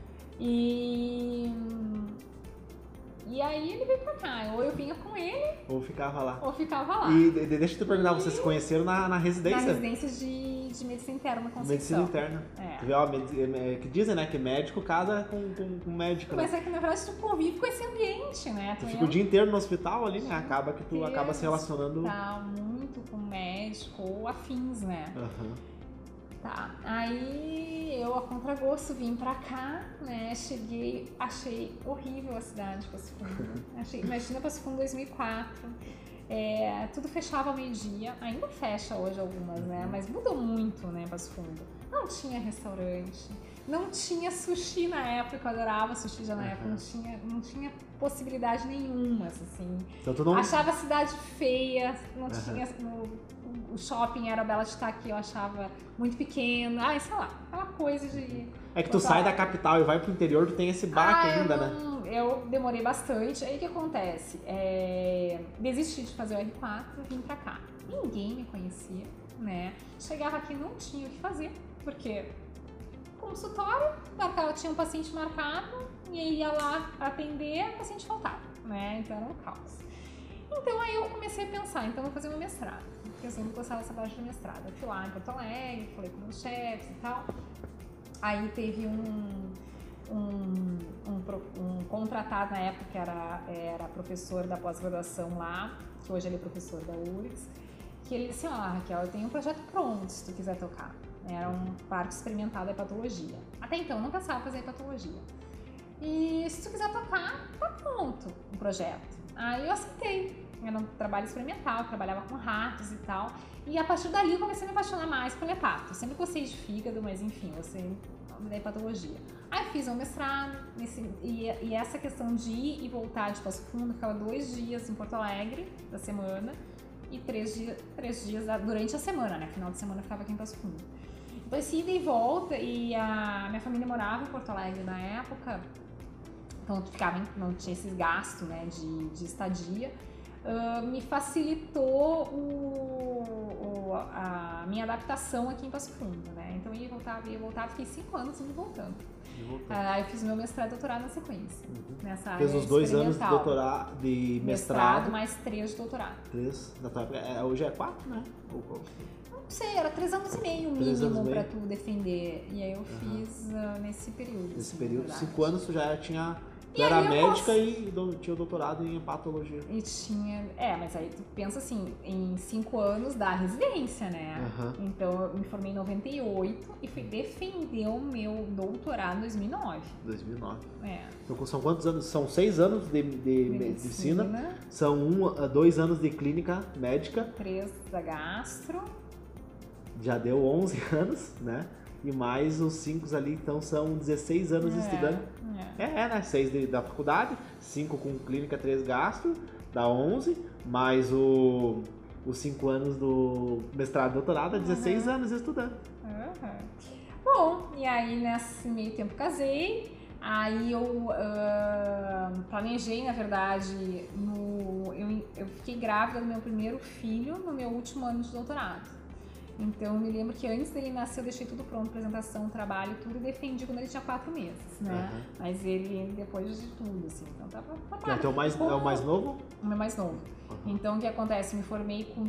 e aí ele veio pra cá, ou eu vinha com ele, ou ficava lá. E deixa eu te perguntar, vocês se conheceram na residência? Na residência de medicina interna, Conceição. Medicina interna. Tu vê, que dizem, né, que médico casa com médico. Mas né? que na verdade tu convive com esse ambiente, né? Tu fica o dia inteiro no hospital ali, né? Acaba que tu acaba se relacionando. Tá, muito com médico ou afins, né? Tá, aí eu a contragosto vim pra cá, né, cheguei, achei horrível a cidade de Passo Fundo, imagina Passo Fundo 2004, tudo fechava ao meio-dia, ainda fecha hoje algumas, né, mas mudou muito, né, Passo Fundo, não tinha restaurante, não tinha sushi na época, eu adorava sushi já na época, não tinha possibilidade nenhuma, assim, então, tu não... achava a cidade feia, não tinha... O shopping era Bela de Itaqui, eu achava muito pequeno. Sei lá, aquela coisa de... É que tu sai da capital e vai pro interior, tu tem esse baque ainda, né? Eu demorei bastante. Aí o que acontece? Desisti de fazer o R4, vim pra cá. Ninguém me conhecia, né? Chegava aqui, não tinha o que fazer, porque consultório, tinha um paciente marcado e aí ia lá atender, o paciente faltava, né? Então era um caos. Então aí eu comecei a pensar, então eu vou fazer meu mestrado. Porque eu sempre gostava dessa parte do mestrado. Eu fui lá em Porto Alegre, falei com meus chefes e tal. Aí teve um contratado na época que era professor da pós-graduação lá, que hoje ele é professor da URGS, que ele disse, Raquel, eu tenho um projeto pronto se tu quiser tocar. Era um parque experimental da hepatologia. Até então eu não pensava em fazer hepatologia. E se tu quiser tocar, tá pronto o projeto. Aí eu aceitei. Era um trabalho experimental, eu trabalhava com ratos e tal. E a partir dali eu comecei a me apaixonar mais pelo hepato. Eu sempre gostei de fígado, mas enfim, eu gostei da hepatologia. Aí eu fiz um mestrado, e essa questão de ir e voltar de Passo Fundo, ficava 2 dias em Porto Alegre da semana e 3 dias durante a semana, né? Final de semana eu ficava aqui em Passo Fundo. Então esse ida e volta, e a minha família morava em Porto Alegre na época, então não tinha esse gasto, né, de estadia. me facilitou a minha adaptação aqui em Passo Fundo, né? Então eu ia voltar, fiquei 5 anos indo e voltando. Aí eu fiz meu mestrado e doutorado na sequência, nessa área. Fez os 2 anos de doutorado, de mestrado. Mais 3 de doutorado. 3, na tua época, hoje é 4, né? Não sei, era 3 anos e meio mínimo pra tu defender. E aí eu fiz nesse período. Nesse período, 5 anos tu já tinha... Tu era médica e tinha o doutorado em patologia. E tinha... mas aí tu pensa assim, em 5 anos da residência, né? Então eu me formei em 98 e fui defender o meu doutorado em 2009. 2009. Então são quantos anos? São 6 anos de medicina. São 2 anos de clínica médica. 3 da gastro. Já deu 11 anos, né? E mais os 5 ali, então são 16 anos estudando. Né? 6 da faculdade, 5 com clínica, 3 gastro, dá 11, mais os 5 anos do mestrado e doutorado, 16 anos estudando. Bom, e aí nesse meio tempo casei, aí eu planejei, na verdade, eu fiquei grávida do meu primeiro filho no meu último ano de doutorado. Então, eu me lembro que antes dele nascer, eu deixei tudo pronto, apresentação, trabalho, tudo, e defendi quando ele tinha 4 meses, né? Mas ele, depois de tudo, assim, então tava claro. Então, é o mais novo? O meu mais novo. Então, o que acontece? Eu me formei com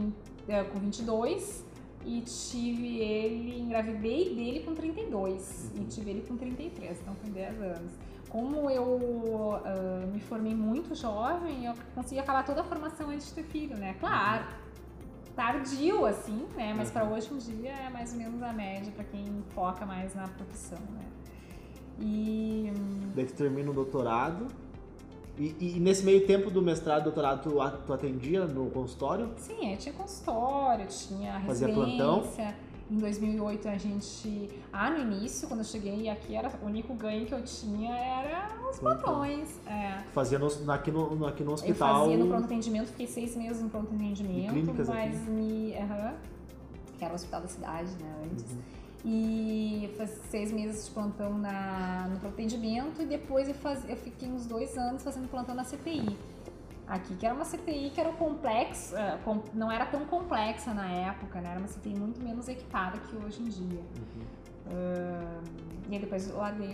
22 e engravidei dele com 32 e tive ele com 33, então foi 10 anos. Como eu me formei muito jovem, eu consegui acabar toda a formação antes de ter filho, né? Claro. Tardio, assim, né? Mas para hoje em dia é mais ou menos a média para quem foca mais na profissão, né? E... Daí tu termina o doutorado. E nesse meio tempo do mestrado e doutorado, tu atendia no consultório? Sim, eu tinha consultório, tinha residência. Fazia plantão? Em 2008 a gente... no início, quando eu cheguei aqui, o único ganho que eu tinha era os plantões. Fazia aqui no hospital? Eu fazia no pronto atendimento, fiquei 6 meses no pronto atendimento. Clínicas mas que era o hospital da cidade, né, antes. E fazia 6 meses de plantão no pronto atendimento e depois eu fiquei uns 2 anos fazendo plantão na CTI. Aqui, que era uma CTI que era não era tão complexa na época, né? Era uma CTI muito menos equipada que hoje em dia. E aí depois eu larguei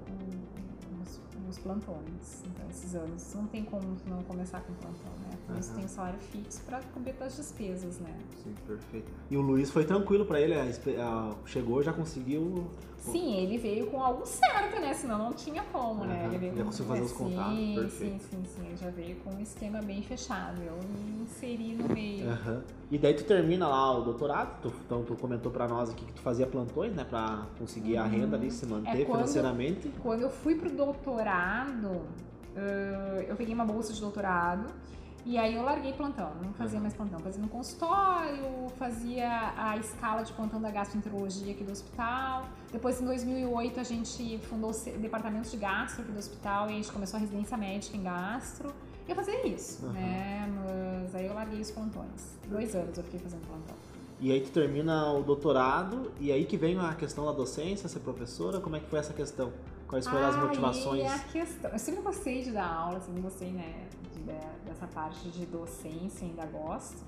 os plantões. Então, esses anos não tem como não começar com plantão, né? Por isso tem um salário fixo para cobrir as despesas, né? Sim, perfeito. E o Luiz foi tranquilo para ele? Chegou, já conseguiu... Sim, ele veio com algo certo, né? Senão não tinha como, né? Ele veio já conseguiu fazer os contatos, perfeito. Sim. Ele já veio com um esquema bem fechado. Eu me inseri no meio. E daí tu termina lá o doutorado, então tu comentou pra nós aqui que tu fazia plantões, né? Pra conseguir a renda ali, se manter financeiramente. Quando eu fui pro doutorado, eu peguei uma bolsa de doutorado. E aí eu larguei plantão, não fazia mais plantão. Fazia no consultório, fazia a escala de plantão da gastroenterologia aqui do hospital. Depois, em 2008, a gente fundou o departamento de gastro aqui do hospital e a gente começou a residência médica em gastro. E eu fazia isso, né? Mas aí eu larguei os plantões. 2 anos eu fiquei fazendo plantão. E aí tu termina o doutorado e aí que vem a questão da docência, ser professora. Como é que foi essa questão? Quais foram as motivações? A questão... Eu sempre gostei de dar aula, sempre gostei, né? Dessa parte de docência, ainda gosto.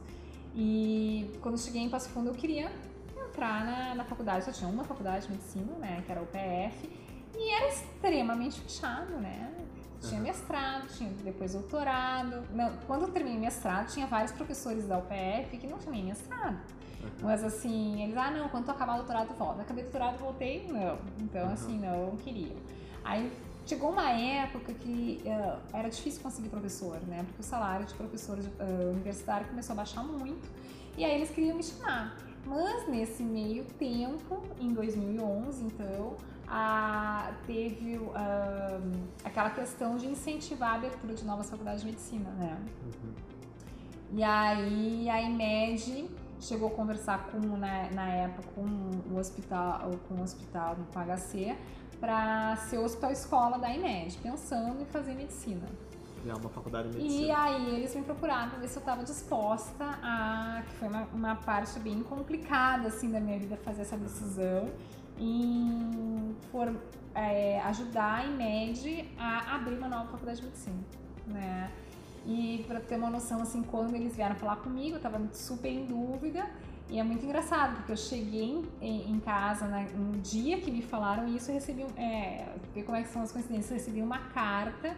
E quando eu cheguei em Passo Fundo, eu queria entrar na faculdade. Só tinha uma faculdade de medicina, né? Que era o UPF. E era extremamente fechado, né? Tinha mestrado, tinha depois doutorado. Quando eu terminei mestrado, tinha vários professores da UPF que não tinham nem mestrado. Mas assim, eles, não, quando tu acabar o doutorado, volta. Acabei o doutorado, voltei, não. Então, assim, não queria. Aí chegou uma época que era difícil conseguir professor, né? Porque o salário de professor universitário começou a baixar muito. E aí eles queriam me chamar. Mas nesse meio tempo, em 2011, então, teve aquela questão de incentivar a abertura de novas faculdades de medicina, né? E aí a IMED chegou a conversar na época com o hospital, com o HC, para ser o hospital escola da IMED, pensando em fazer medicina. Criar uma faculdade de medicina. E aí eles me procuraram para ver se eu estava disposta que foi uma parte bem complicada assim da minha vida, fazer essa decisão em ajudar a IMED a abrir uma nova faculdade de medicina, né? E para ter uma noção, assim, quando eles vieram falar comigo, eu tava super em dúvida. E é muito engraçado, porque eu cheguei em casa no dia que me falaram isso, eu recebi, ver como é que são as coincidências, eu recebi uma carta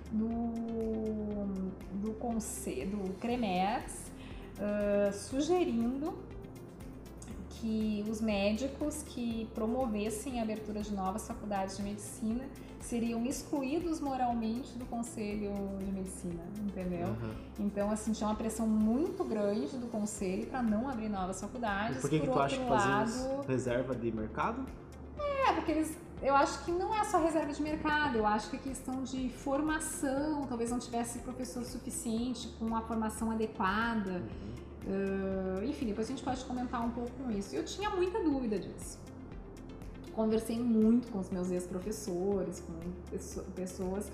do conselho, do CREMERS, sugerindo que os médicos que promovessem a abertura de novas faculdades de medicina seriam excluídos moralmente do Conselho de Medicina, entendeu? Uhum. Então, assim, tinha uma pressão muito grande do Conselho para não abrir novas faculdades. E por que tu acha que faziam reserva de mercado? Porque eu acho que não é só reserva de mercado, eu acho que é questão de formação, talvez não tivesse professor suficiente com uma formação adequada. Enfim, depois a gente pode comentar um pouco com isso. Eu tinha muita dúvida disso. Conversei muito com os meus ex-professores, com pessoas,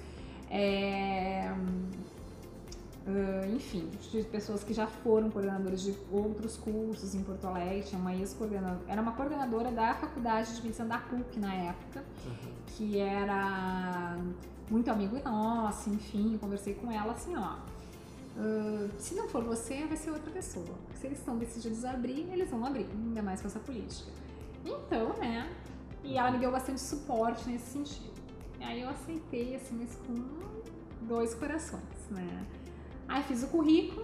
enfim, de pessoas que já foram coordenadores de outros cursos em Porto Alegre. Tinha uma ex-coordenadora, era uma coordenadora da Faculdade de Medicina da PUC na época, que era muito amigo nosso, enfim, conversei com ela assim, se não for você, vai ser outra pessoa. Se eles estão decididos a abrir, eles vão abrir, ainda mais com essa política. Então, né, e ela me deu bastante suporte nesse sentido. E aí eu aceitei, assim, mas com 2 corações, né. Aí fiz o currículo,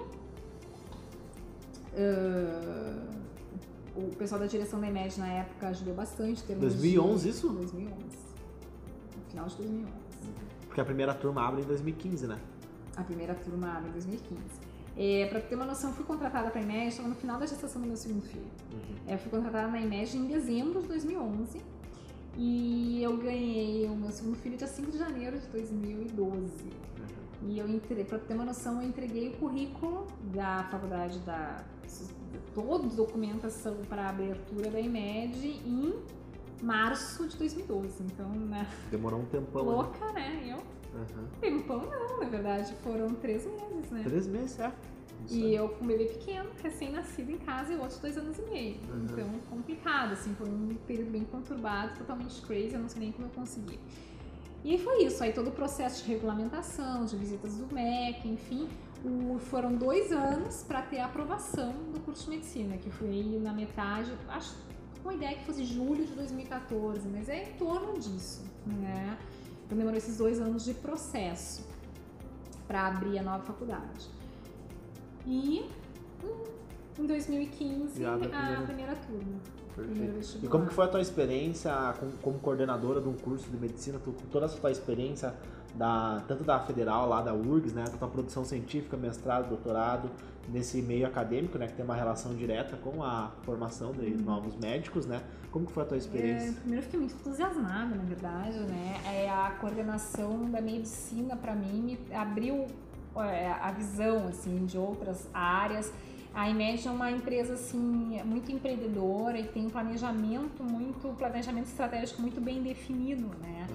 o pessoal da direção da EMED na época ajudou bastante. 2011 isso? 2011, no final de 2011. Porque a primeira turma abre em 2015, né? A primeira turma abre em 2015. Pra ter uma noção, eu fui contratada para a EMED, estava no final da gestação do meu segundo filho. Eu fui contratada na EMED em dezembro de 2011 e eu ganhei o meu segundo filho dia 5 de janeiro de 2012. E eu entrei, para ter uma noção, eu entreguei o currículo da faculdade, toda a documentação para a abertura da EMED em março de 2012. Então, né? Demorou um tempão. Louca, né? Tempão não, na verdade, foram 3 meses, né? 3 meses, E eu com um bebê pequeno, recém-nascido em casa, e outros 2 anos e meio. Então, complicado, assim, foi um período bem conturbado, totalmente crazy, eu não sei nem como eu consegui. E foi isso, aí todo o processo de regulamentação, de visitas do MEC, enfim, foram 2 anos para ter a aprovação do curso de medicina, que foi na metade, acho com a ideia que fosse julho de 2014, mas é em torno disso, né? Então demorou esses 2 anos de processo para abrir a nova faculdade. E em 2015 a primeira turma. Perfeito. E como que foi a tua experiência como coordenadora de um curso de medicina, com toda essa tua experiência, tanto da Federal, lá da URGS, né, com a tua produção científica, mestrado, doutorado, nesse meio acadêmico, né, que tem uma relação direta com a formação de novos médicos, né? Como que foi a tua experiência? Primeiro eu fiquei muito entusiasmada, na verdade, né? A coordenação da medicina, para mim, me abriu a visão, assim, de outras áreas. A EMED é uma empresa, assim, muito empreendedora e tem um planejamento estratégico muito bem definido, né?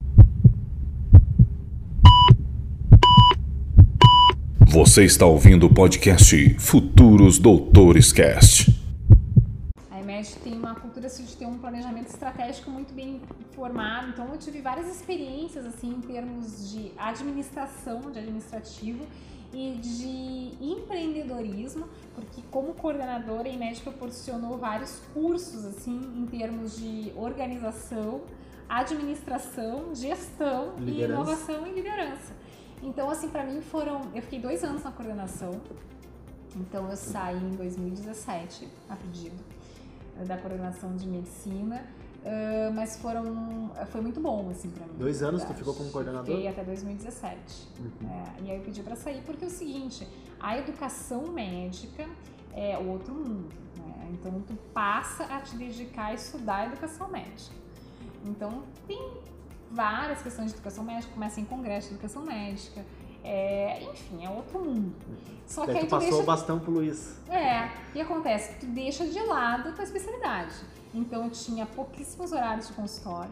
Você está ouvindo o podcast Futuros Doutores Cast. A EMED tem uma cultura assim, de ter um planejamento estratégico muito bem formado, então eu tive várias experiências assim, em termos de administrativo e de empreendedorismo, porque como coordenadora a EMED proporcionou vários cursos assim, em termos de organização, administração, gestão, e inovação e liderança. Então, assim, para mim eu fiquei 2 anos na coordenação, então eu saí em 2017, a pedido da coordenação de medicina, mas foi muito bom, assim, para mim. 2 anos tu ficou como coordenador? Fiquei até 2017, e aí eu pedi para sair porque é o seguinte, a educação médica é outro mundo, né? Então tu passa a te dedicar a estudar a educação médica. Então tem várias questões de educação médica, começa em congresso de educação médica, enfim, é outro mundo. Só que aí tu passou o bastão pro Luiz. E acontece, tu deixa de lado a tua especialidade. Então eu tinha pouquíssimos horários de consultório.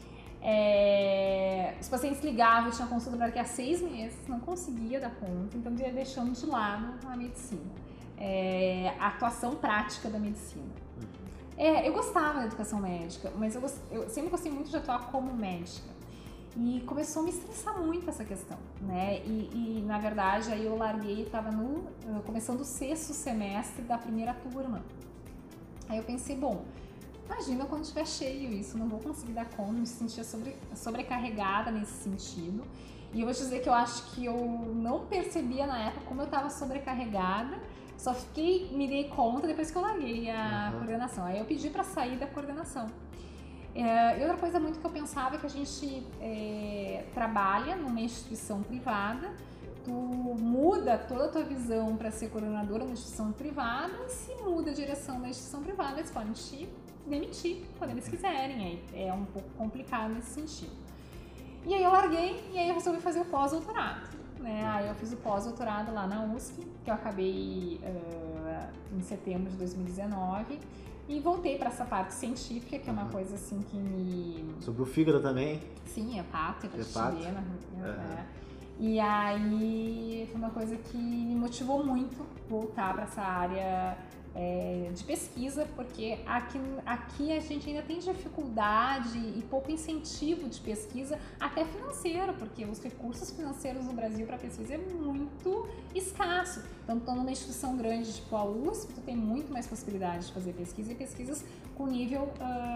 Os pacientes ligavam, eu tinha consulta daqui a 6 meses, não conseguia dar conta, então eu ia deixando de lado a medicina. A atuação prática da medicina. Eu gostava da educação médica, mas eu sempre gostei muito de atuar como médica. E começou a me estressar muito essa questão, né? E na verdade, aí eu larguei, estava começando o 6º semestre da primeira turma. Aí eu pensei, bom, imagina quando estiver cheio isso, não vou conseguir dar conta, me sentia sobrecarregada nesse sentido. E eu vou te dizer que eu acho que eu não percebia na época como eu estava sobrecarregada, só me dei conta depois que eu larguei a coordenação. Aí eu pedi para sair da coordenação. E outra coisa muito que eu pensava é que a gente trabalha numa instituição privada, tu muda toda a tua visão para ser coordenadora de uma instituição privada, e se muda a direção da instituição privada, eles podem te demitir quando eles quiserem, aí é um pouco complicado nesse sentido. E aí eu larguei e aí eu resolvi fazer o pós-doutorado, né? Aí eu fiz o pós-doutorado lá na USP, que eu acabei em setembro de 2019, e voltei para essa parte científica, que é uma coisa assim que me... Sobre o fígado também? Sim, hepato, hepatite B, né? E aí foi uma coisa que me motivou muito voltar para essa área de pesquisa, porque aqui a gente ainda tem dificuldade e pouco incentivo de pesquisa, até financeiro, porque os recursos financeiros no Brasil para pesquisa é muito escasso. Então, estando numa instituição grande tipo a USP, tu tem muito mais possibilidade de fazer pesquisa e pesquisas com nível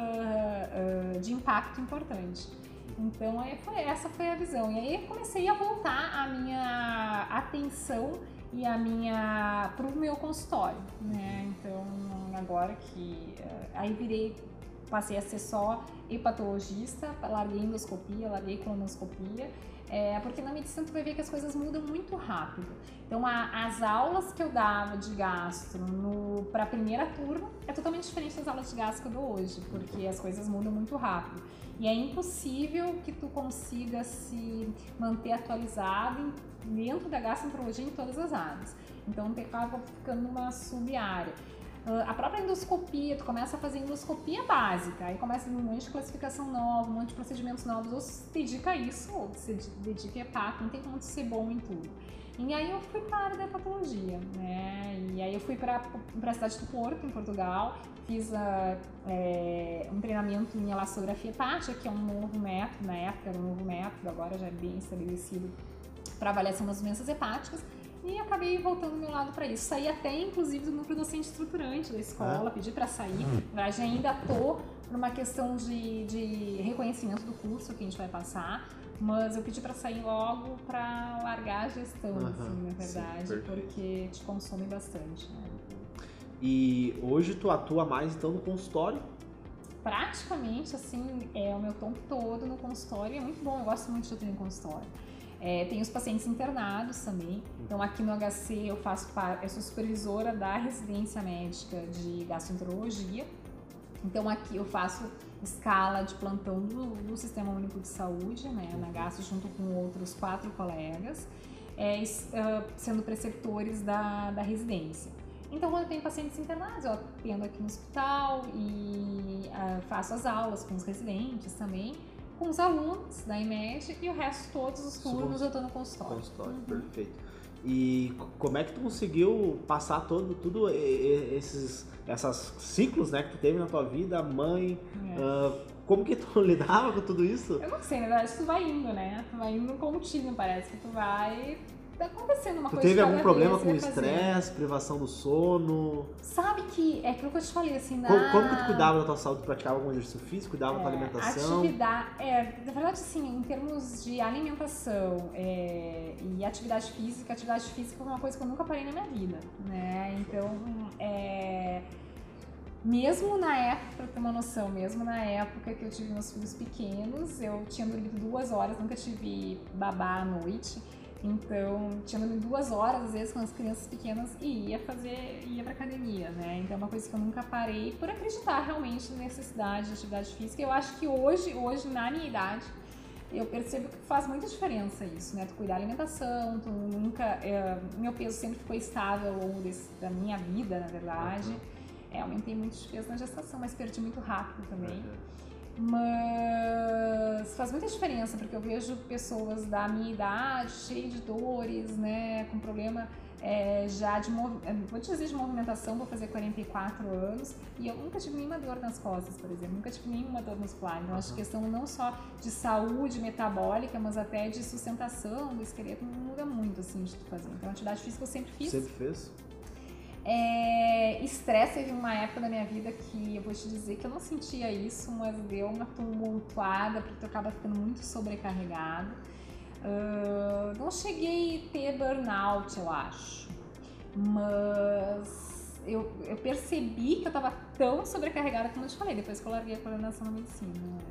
de impacto importante. Então, essa foi a visão. E aí comecei a voltar a minha atenção pro meu consultório, né? Então, agora que... Aí passei a ser só hepatologista, larguei endoscopia, larguei colonoscopia, porque na medicina tu vai ver que as coisas mudam muito rápido. Então, as aulas que eu dava de gastro para a primeira turma é totalmente diferente das aulas de gastro que eu dou hoje, porque as coisas mudam muito rápido. E é impossível que tu consiga se manter atualizado dentro da gastroenterologia em todas as áreas. Então, tu acaba ficando numa sub-área. A própria endoscopia, tu começa a fazer endoscopia básica, aí começa um monte de classificação nova, um monte de procedimentos novos, ou se dedica a isso, ou se dedica a hepato, não tem como tu ser bom em tudo. E aí eu fui para a área da hepatologia, né? E aí eu fui para a cidade do Porto, em Portugal, fiz um treinamento em elastografia hepática, que é um novo método, na época era um novo método, agora já é bem estabelecido para avaliação das doenças hepáticas, e acabei voltando do meu lado para isso. Saí até, inclusive, do núcleo docente estruturante da escola, pedi para sair. Na verdade, ainda estou numa questão de reconhecimento do curso que a gente vai passar, mas eu pedi para sair logo para largar a gestão, assim, na verdade, sim, porque te consome bastante, né? E hoje tu atua mais, então, no consultório? Praticamente, assim, o meu tempo todo no consultório, é muito bom, eu gosto muito de atuar em consultório. Tem os pacientes internados também, então aqui no HC eu sou supervisora da residência médica de gastroenterologia, então aqui eu faço escala de plantão do Sistema Único de Saúde, né, na gastro, junto com outros 4 colegas, sendo preceptores da residência. Então, quando tem pacientes internados, eu atendo aqui no hospital e faço as aulas com os residentes também, com os alunos da IMED, e o resto, todos os turnos eu estou no consultório. Perfeito. E como é que tu conseguiu passar tudo esses ciclos, né, que tu teve na tua vida, mãe, como que tu lidava com tudo isso? Eu não sei, na verdade tu vai indo, né, tu vai indo contínuo, parece que tu vai... Tá acontecendo uma coisa. Tu teve algum problema com estresse, privação do sono? Sabe que é aquilo que eu te falei, assim, Como que tu cuidava da tua saúde? Tu praticava algum exercício físico? Cuidava da tua alimentação? Na verdade, assim, em termos de alimentação e atividade física foi uma coisa que eu nunca parei na minha vida, né? Então, mesmo na época, pra ter uma noção, mesmo na época que eu tive meus filhos pequenos, eu tinha dormido 2 horas, nunca tive babá à noite. Então, tinha dormido 2 horas, às vezes, com as crianças pequenas, e ia pra academia, né? Então, é uma coisa que eu nunca parei por acreditar realmente na necessidade de atividade física. Eu acho que hoje, na minha idade, eu percebo que faz muita diferença isso, né? Tu cuidar da alimentação, tu nunca... meu peso sempre ficou estável ao longo da minha vida, na verdade. Aumentei muito de peso na gestação, mas perdi muito rápido também. Mas faz muita diferença, porque eu vejo pessoas da minha idade cheias de dores, né, com problema vou te dizer de movimentação, vou fazer 44 anos e eu nunca tive nenhuma dor nas costas, por exemplo, nunca tive nenhuma dor muscular. Então, acho que questão não só de saúde metabólica, mas até de sustentação do esqueleto muda muito, assim, de tu fazer. Então, atividade física eu sempre fiz. Sempre fez? Estresse, teve uma época da minha vida que eu vou te dizer que eu não sentia isso, mas deu uma tumultuada, porque tu acaba ficando muito sobrecarregado. Não cheguei a ter burnout, eu acho, mas eu percebi que eu estava tão sobrecarregada como eu te falei, depois que eu larguei a coordenação na medicina.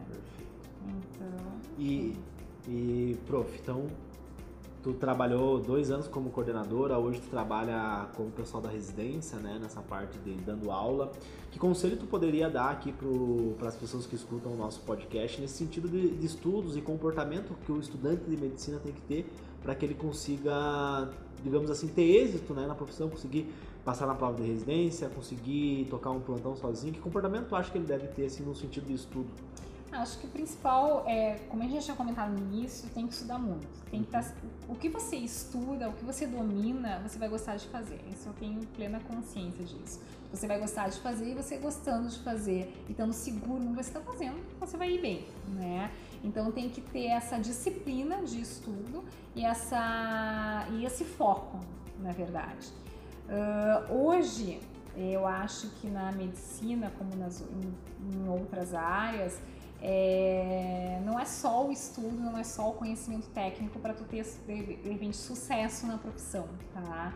Então... E prof, então tu trabalhou 2 anos como coordenadora, hoje tu trabalha com o pessoal da residência, né, nessa parte de dando aula. Que conselho tu poderia dar aqui para as pessoas que escutam o nosso podcast nesse sentido de estudos e comportamento que o estudante de medicina tem que ter para que ele consiga, digamos assim, ter êxito, né, na profissão, conseguir passar na prova de residência, conseguir tocar um plantão sozinho? Que comportamento tu acha que ele deve ter assim, no sentido de estudo? Acho que o principal como a gente já tinha comentado no início, tem que estudar muito. Tem que o que você estuda, o que você domina, você vai gostar de fazer. Isso eu tenho plena consciência disso. Você vai gostar de fazer e você gostando de fazer e estando seguro no que você está fazendo, você vai ir bem, né? Então tem que ter essa disciplina de estudo e esse foco, na verdade. Hoje, eu acho que na medicina, como em outras áreas, não é só o estudo, não é só o conhecimento técnico para tu ter, de repente, sucesso na profissão, tá?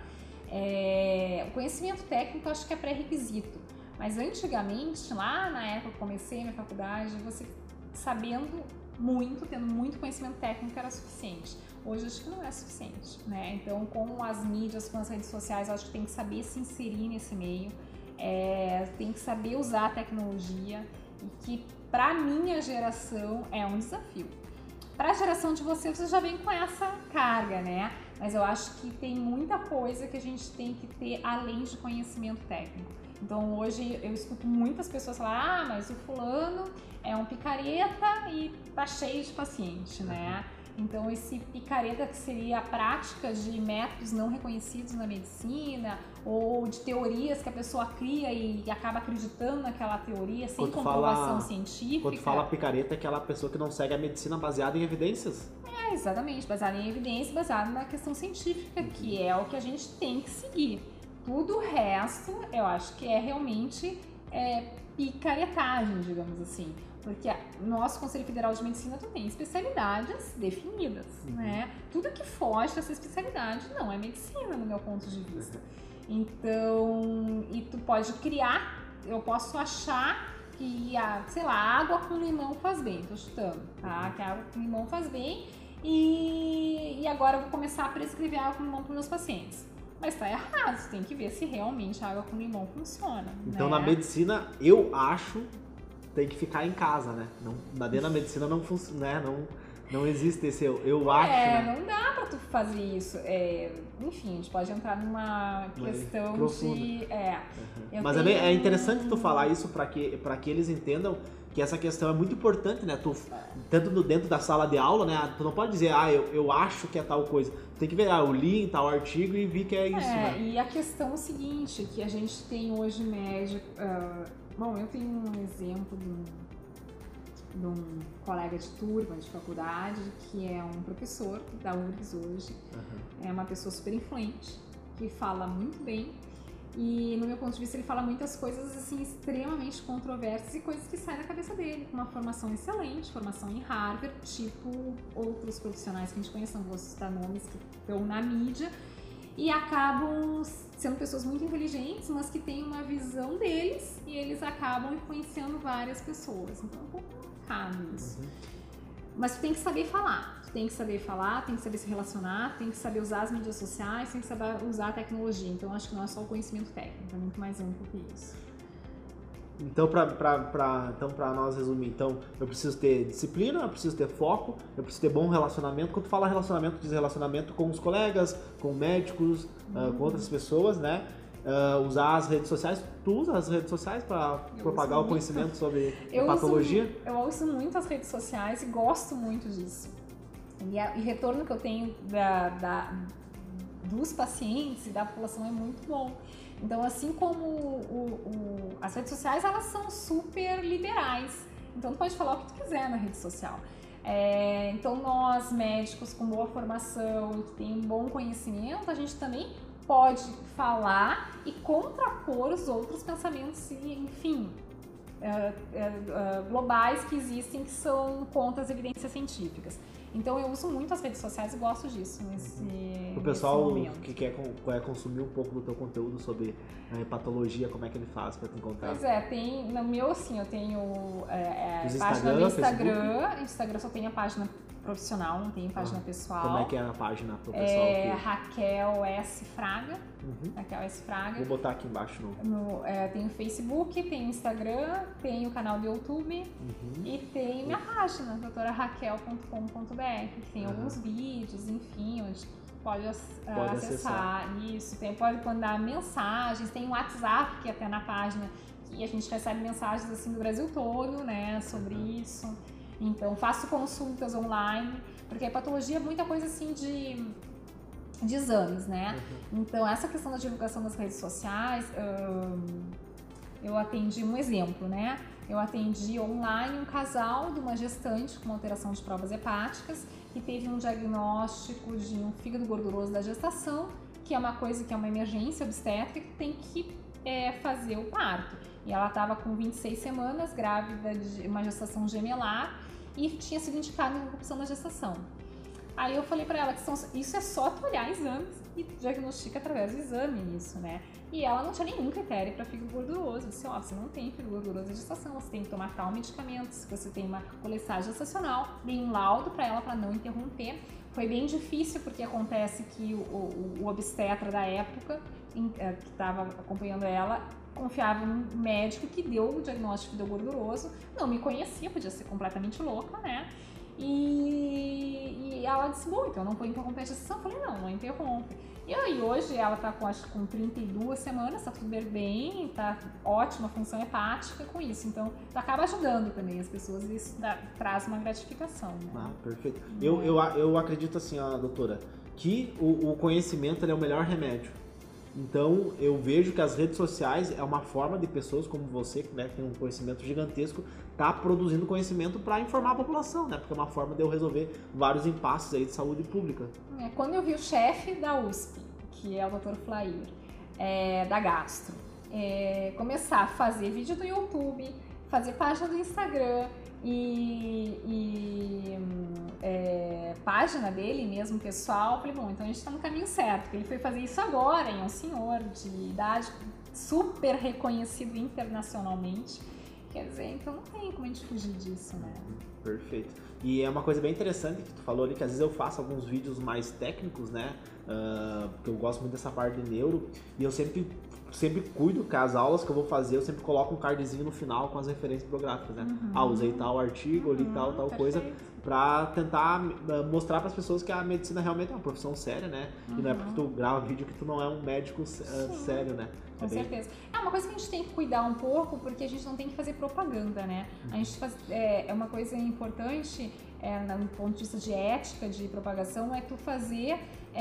O conhecimento técnico eu acho que é pré-requisito, mas antigamente, lá na época que eu comecei minha faculdade, você sabendo muito, tendo muito conhecimento técnico era suficiente. Hoje acho que não é suficiente, né? Então, com as mídias, com as redes sociais, eu acho que tem que saber se inserir nesse meio, tem que saber usar a tecnologia e que para minha geração é um desafio. Para a geração de você já vem com essa carga, né? Mas eu acho que tem muita coisa que a gente tem que ter além de conhecimento técnico. Então hoje eu escuto muitas pessoas falar, mas o fulano é um picareta e tá cheio de paciente, né? Então esse picareta que seria a prática de métodos não reconhecidos na medicina ou de teorias que a pessoa cria e acaba acreditando naquela teoria sem comprovação científica. Quando tu fala picareta, é aquela pessoa que não segue a medicina baseada em evidências. Exatamente, baseada em evidência, baseada na questão científica, que é o que a gente tem que seguir. Tudo o resto, eu acho que é realmente picaretagem, digamos assim. Porque o nosso Conselho Federal de Medicina tem especialidades definidas, né? Tudo que foge dessa especialidade não é medicina, no meu ponto de vista. Então, e tu pode criar, eu posso achar que, sei lá, água com limão faz bem, tô chutando, tá? Que a água com limão faz bem e agora eu vou começar a prescrever água com limão para meus pacientes. Mas tá errado, tem que ver se realmente a água com limão funciona. Então, né? Na medicina, eu acho, tem que ficar em casa, né? Dentro da medicina não funciona, né? Não existe esse eu acho, né? Não dá pra tu fazer isso. Enfim, a gente pode entrar numa questão profunda. de... Mas é interessante tu falar isso pra que eles entendam que essa questão é muito importante, né? Tanto dentro da sala de aula, né? Tu não pode dizer, eu acho que é tal coisa. Tu tem que ver, eu li em tal artigo e vi que é isso, né? E a questão é o seguinte, que a gente tem hoje médico... Bom, eu tenho um exemplo de um colega de turma de faculdade, que é um professor da URGS hoje, é uma pessoa super influente, que fala muito bem, e no meu ponto de vista ele fala muitas coisas assim extremamente controversas e coisas que saem da cabeça dele, com uma formação excelente, formação em Harvard, tipo outros profissionais que a gente conhece, não vou citar nomes, que estão na mídia, e acabam sendo pessoas muito inteligentes, mas que têm uma visão deles e eles acabam influenciando várias pessoas. Então é um pouco complicado isso. Mas tu tem que saber falar. Tu tem que saber falar, tem que saber se relacionar, tem que saber usar as mídias sociais, tem que saber usar a tecnologia. Então acho que não é só o conhecimento técnico, é muito mais amplo que isso. Então, pra nós resumir, então, eu preciso ter disciplina, eu preciso ter foco, eu preciso ter bom relacionamento. Quando tu fala relacionamento, diz relacionamento com os colegas, com médicos, com outras pessoas, né? Usar as redes sociais. Tu usa as redes sociais para propagar o conhecimento sobre patologia? Eu uso muito as redes sociais e gosto muito disso. E retorno que eu tenho dos pacientes e da população é muito bom. Então, assim como as redes sociais, elas são super liberais. Então, tu pode falar o que tu quiser na rede social. Então, nós, médicos com boa formação, que tem um bom conhecimento, a gente também pode falar e contrapor os outros pensamentos, enfim, globais que existem, que são contra as evidências científicas. Então eu uso muito as redes sociais e gosto disso o pessoal que quer consumir um pouco do teu conteúdo sobre patologia, como é que ele faz para te encontrar? Pois tem no meu, assim, eu tenho página no Instagram só tem a página profissional, não tem página pessoal. Como é que é a página pro pessoal? Raquel S. Fraga. Raquel S. Fraga. Vou botar aqui embaixo tem o Facebook, tem o Instagram, tem o canal do YouTube e tem minha página, doutoraraquel.com.br, que tem alguns vídeos, enfim, onde pode acessar isso, pode mandar mensagens, tem o WhatsApp que é até na página, que a gente recebe mensagens assim do Brasil todo, né, sobre isso. Então, faço consultas online, porque a patologia é muita coisa assim de exames, né? Então, essa questão da divulgação das redes sociais, eu atendi um exemplo, né? Eu atendi online um casal de uma gestante com alteração de provas hepáticas que teve um diagnóstico de um fígado gorduroso da gestação, que é uma coisa que é uma emergência obstétrica que tem que fazer o parto. E ela estava com 26 semanas, grávida de uma gestação gemelar, e tinha sido indicada interrupção da gestação. Aí eu falei pra ela que isso é só tu olhar exames e diagnostica através do exame isso, né? E ela não tinha nenhum critério para fígado gorduroso. Eu disse, você não tem fígado gorduroso de gestação, você tem que tomar tal medicamento, se você tem uma colestagem gestacional, dei um laudo para ela para não interromper. Foi bem difícil porque acontece que o obstetra da época, que estava acompanhando ela, confiava num médico que deu o diagnóstico de gorduroso, não me conhecia, podia ser completamente louca, né? E ela disse, bom, então eu não vou interromper a gestação. Eu falei, não interrompe. E aí hoje ela tá com 32 semanas, tá tudo bem, tá ótima função hepática com isso. Então, acaba ajudando também as pessoas e isso traz uma gratificação, né? Perfeito. Eu acredito assim, doutora, que o conhecimento ele é o melhor remédio. Então, eu vejo que as redes sociais é uma forma de pessoas como você, que tem um conhecimento gigantesco, tá produzindo conhecimento para informar a população, né? Porque é uma forma de eu resolver vários impasses aí de saúde pública. Quando eu vi o chefe da USP, que é o Dr. Flair, da Gastro, começar a fazer vídeo do YouTube, fazer página do Instagram página dele mesmo, pessoal, falei, bom, então a gente está no caminho certo, porque ele foi fazer isso agora, é um senhor de idade super reconhecido internacionalmente, quer dizer, então não tem como a gente fugir disso, né? Perfeito. E é uma coisa bem interessante que tu falou ali, que às vezes eu faço alguns vídeos mais técnicos, né, porque eu gosto muito dessa parte de neuro, e eu sempre cuido que as aulas que eu vou fazer, eu sempre coloco um cardzinho no final com as referências bibliográficas, né? Usei tal artigo, li tal coisa, pra tentar mostrar para as pessoas que a medicina realmente é uma profissão séria, né? E não é porque tu grava vídeo que tu não é um médico sério, né? Com certeza. É uma coisa que a gente tem que cuidar um pouco, porque a gente não tem que fazer propaganda, né? A gente é uma coisa importante, no ponto de vista de ética, de propagação, é tu fazer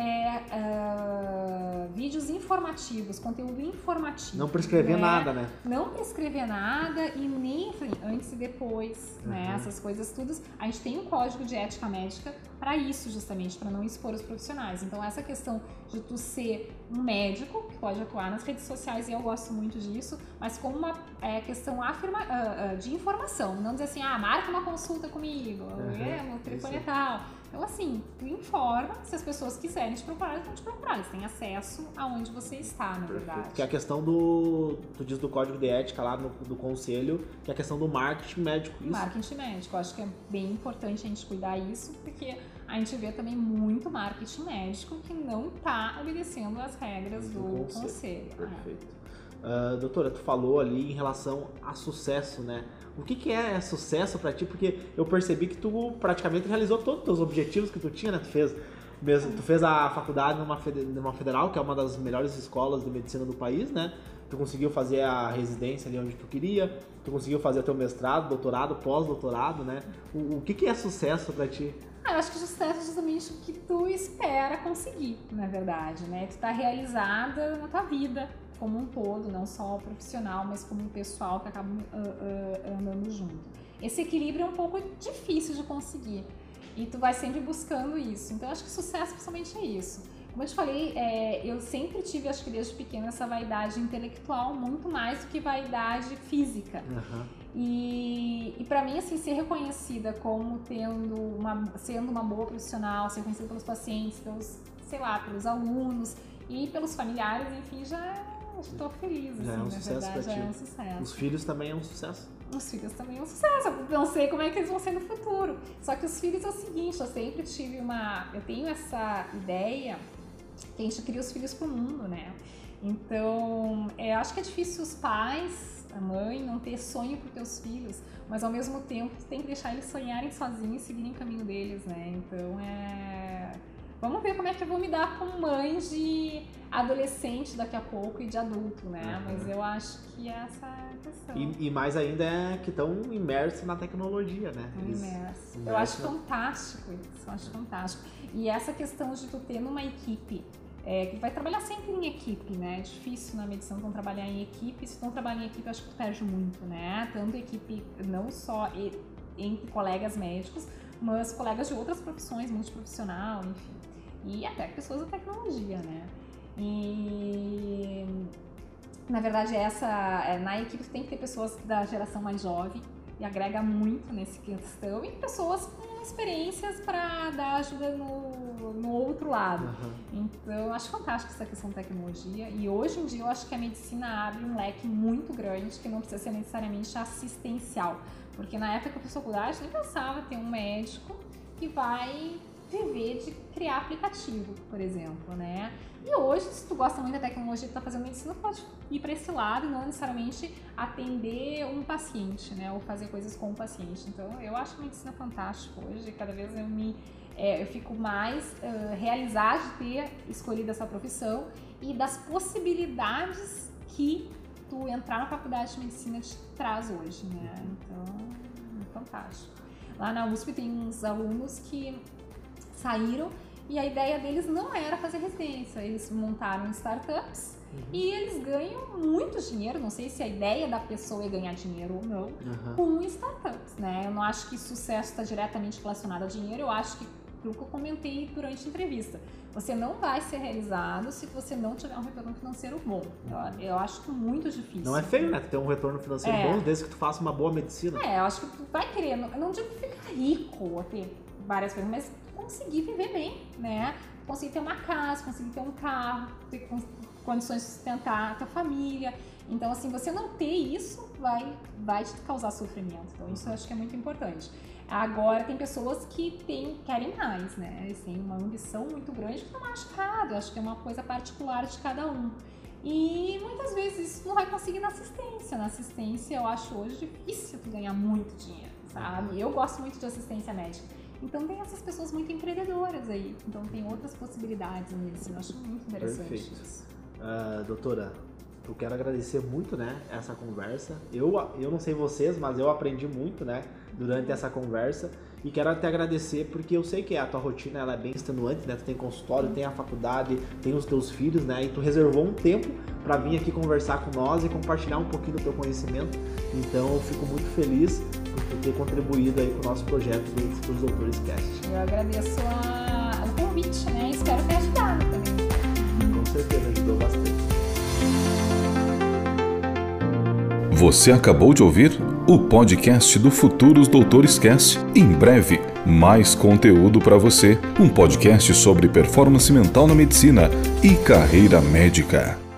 vídeos informativos, conteúdo informativo. Não prescrever nada, né? Não prescrever nada e nem antes e depois, né? Essas coisas todas. A gente tem um código de ética médica para isso, justamente, para não expor os profissionais. Então, essa questão de tu ser um médico, que pode atuar nas redes sociais, e eu gosto muito disso, mas como uma questão de informação. Não dizer assim, marca uma consulta comigo, meu telefone é tal. Então, assim, tu informa, se as pessoas quiserem te procurar, eles vão te procurar. Eles têm acesso aonde você está, na verdade. Que é a questão tu diz do código de ética lá do conselho, que é a questão do marketing médico. Isso? Marketing médico. Eu acho que é bem importante a gente cuidar isso, porque a gente vê também muito marketing médico que não está obedecendo às regras do conselho. Perfeito. Doutora, tu falou ali em relação a sucesso, né? O que é sucesso pra ti? Porque eu percebi que tu praticamente realizou todos os teus objetivos que tu tinha, né? Tu fez a faculdade numa federal, que é uma das melhores escolas de medicina do país, né? tu conseguiu fazer a residência ali onde tu queria, tu conseguiu fazer teu mestrado, doutorado, pós-doutorado, né? O que é sucesso pra ti? Eu acho que sucesso é justamente o que tu espera conseguir, na verdade, né? Tu tá realizada na tua vida como um todo, não só profissional, mas como um pessoal que acaba andando junto. Esse equilíbrio é um pouco difícil de conseguir e tu vai sempre buscando isso. Então, eu acho que sucesso principalmente é isso. Como eu te falei, eu sempre tive, acho que desde pequena, essa vaidade intelectual muito mais do que vaidade física. E para mim, assim, ser reconhecida como sendo uma boa profissional, ser reconhecida pelos pacientes, pelos alunos e pelos familiares, enfim, já estou feliz, assim, já é um sucesso verdade, pra ti. É um sucesso. Os filhos também é um sucesso? Os filhos também é um sucesso, eu não sei como é que eles vão ser no futuro. Só que os filhos é o seguinte, eu sempre tive eu tenho essa ideia que a gente cria os filhos pro mundo, né? Então, acho que é difícil os pais, a mãe, não ter sonho para teus filhos, mas ao mesmo tempo tu tem que deixar eles sonharem sozinhos e seguirem o caminho deles, né? Então, vamos ver como é que eu vou me dar como mãe de adolescente daqui a pouco e de adulto, né? Mas eu acho que essa é a questão. E mais ainda que estão imersos na tecnologia, né? Eu acho fantástico isso, eu acho fantástico. E essa questão de tu ter numa equipe, que vai trabalhar sempre em equipe, né? É difícil na medicina não trabalhar em equipe. Se tu não trabalhar em equipe, eu acho que tu perde muito, né? Tanto equipe, não só entre colegas médicos, mas colegas de outras profissões, multiprofissional, enfim. E até pessoas da tecnologia, né? E na verdade na equipe tu tem que ter pessoas da geração mais jovem e agrega muito nessa questão, e pessoas com experiências para dar ajuda no outro lado. Então eu acho fantástico essa questão de tecnologia, e hoje em dia eu acho que a medicina abre um leque muito grande que não precisa ser necessariamente assistencial, porque na época que eu fiz faculdade nem pensava ter um médico que vai viver de criar aplicativo, por exemplo, né? E hoje, se tu gosta muito da tecnologia e tá fazendo medicina, pode ir para esse lado e não necessariamente atender um paciente, né? Ou fazer coisas com o paciente. Então, eu acho a medicina fantástica hoje. Cada vez eu fico mais realizada de ter escolhido essa profissão e das possibilidades que tu entrar na faculdade de medicina te traz hoje, né? Então, é fantástico. Lá na USP tem uns alunos que saíram e a ideia deles não era fazer residência, eles montaram startups e eles ganham muito dinheiro, não sei se a ideia da pessoa é ganhar dinheiro ou não, com startups, né? Eu não acho que sucesso está diretamente relacionado a dinheiro, eu acho que, pelo que eu comentei durante a entrevista, você não vai ser realizado se você não tiver um retorno financeiro bom. Eu acho muito difícil. Não é feio, né? Tu ter um retorno financeiro bom desde que tu faça uma boa medicina. Eu acho que tu vai querer, eu não digo ficar rico ou ter várias coisas, mas conseguir viver bem, né? Conseguir ter uma casa, conseguir ter um carro, ter condições de sustentar a tua família. Então, assim, você não ter isso vai te causar sofrimento. Então, isso eu acho que é muito importante. Agora, tem pessoas que querem mais, né? Eles têm uma ambição muito grande que não é machucado. Eu acho que é uma coisa particular de cada um. E muitas vezes isso não vai conseguir na assistência. Na assistência, eu acho hoje difícil tu ganhar muito dinheiro, sabe? Eu gosto muito de assistência médica. Então tem essas pessoas muito empreendedoras aí. Então tem outras possibilidades na medicina. Eu acho muito interessante isso. Doutora, eu quero agradecer muito, né, essa conversa. Eu não sei vocês, mas eu aprendi muito, né, durante essa conversa. E quero até agradecer porque eu sei que a tua rotina ela é bem extenuante, né? Tu tem consultório, tem a faculdade, tem os teus filhos, né? E tu reservou um tempo para vir aqui conversar com nós e compartilhar um pouquinho do teu conhecimento. Então eu fico muito feliz por ter contribuído aí com o nosso projeto do Futuros Doutores Cast. Eu agradeço o convite, né? Espero ter ajudado também. Com certeza ajudou bastante. Você acabou de ouvir o podcast do Futuros Doutores Cast. Em breve, mais conteúdo para você. Um podcast sobre performance mental na medicina e carreira médica.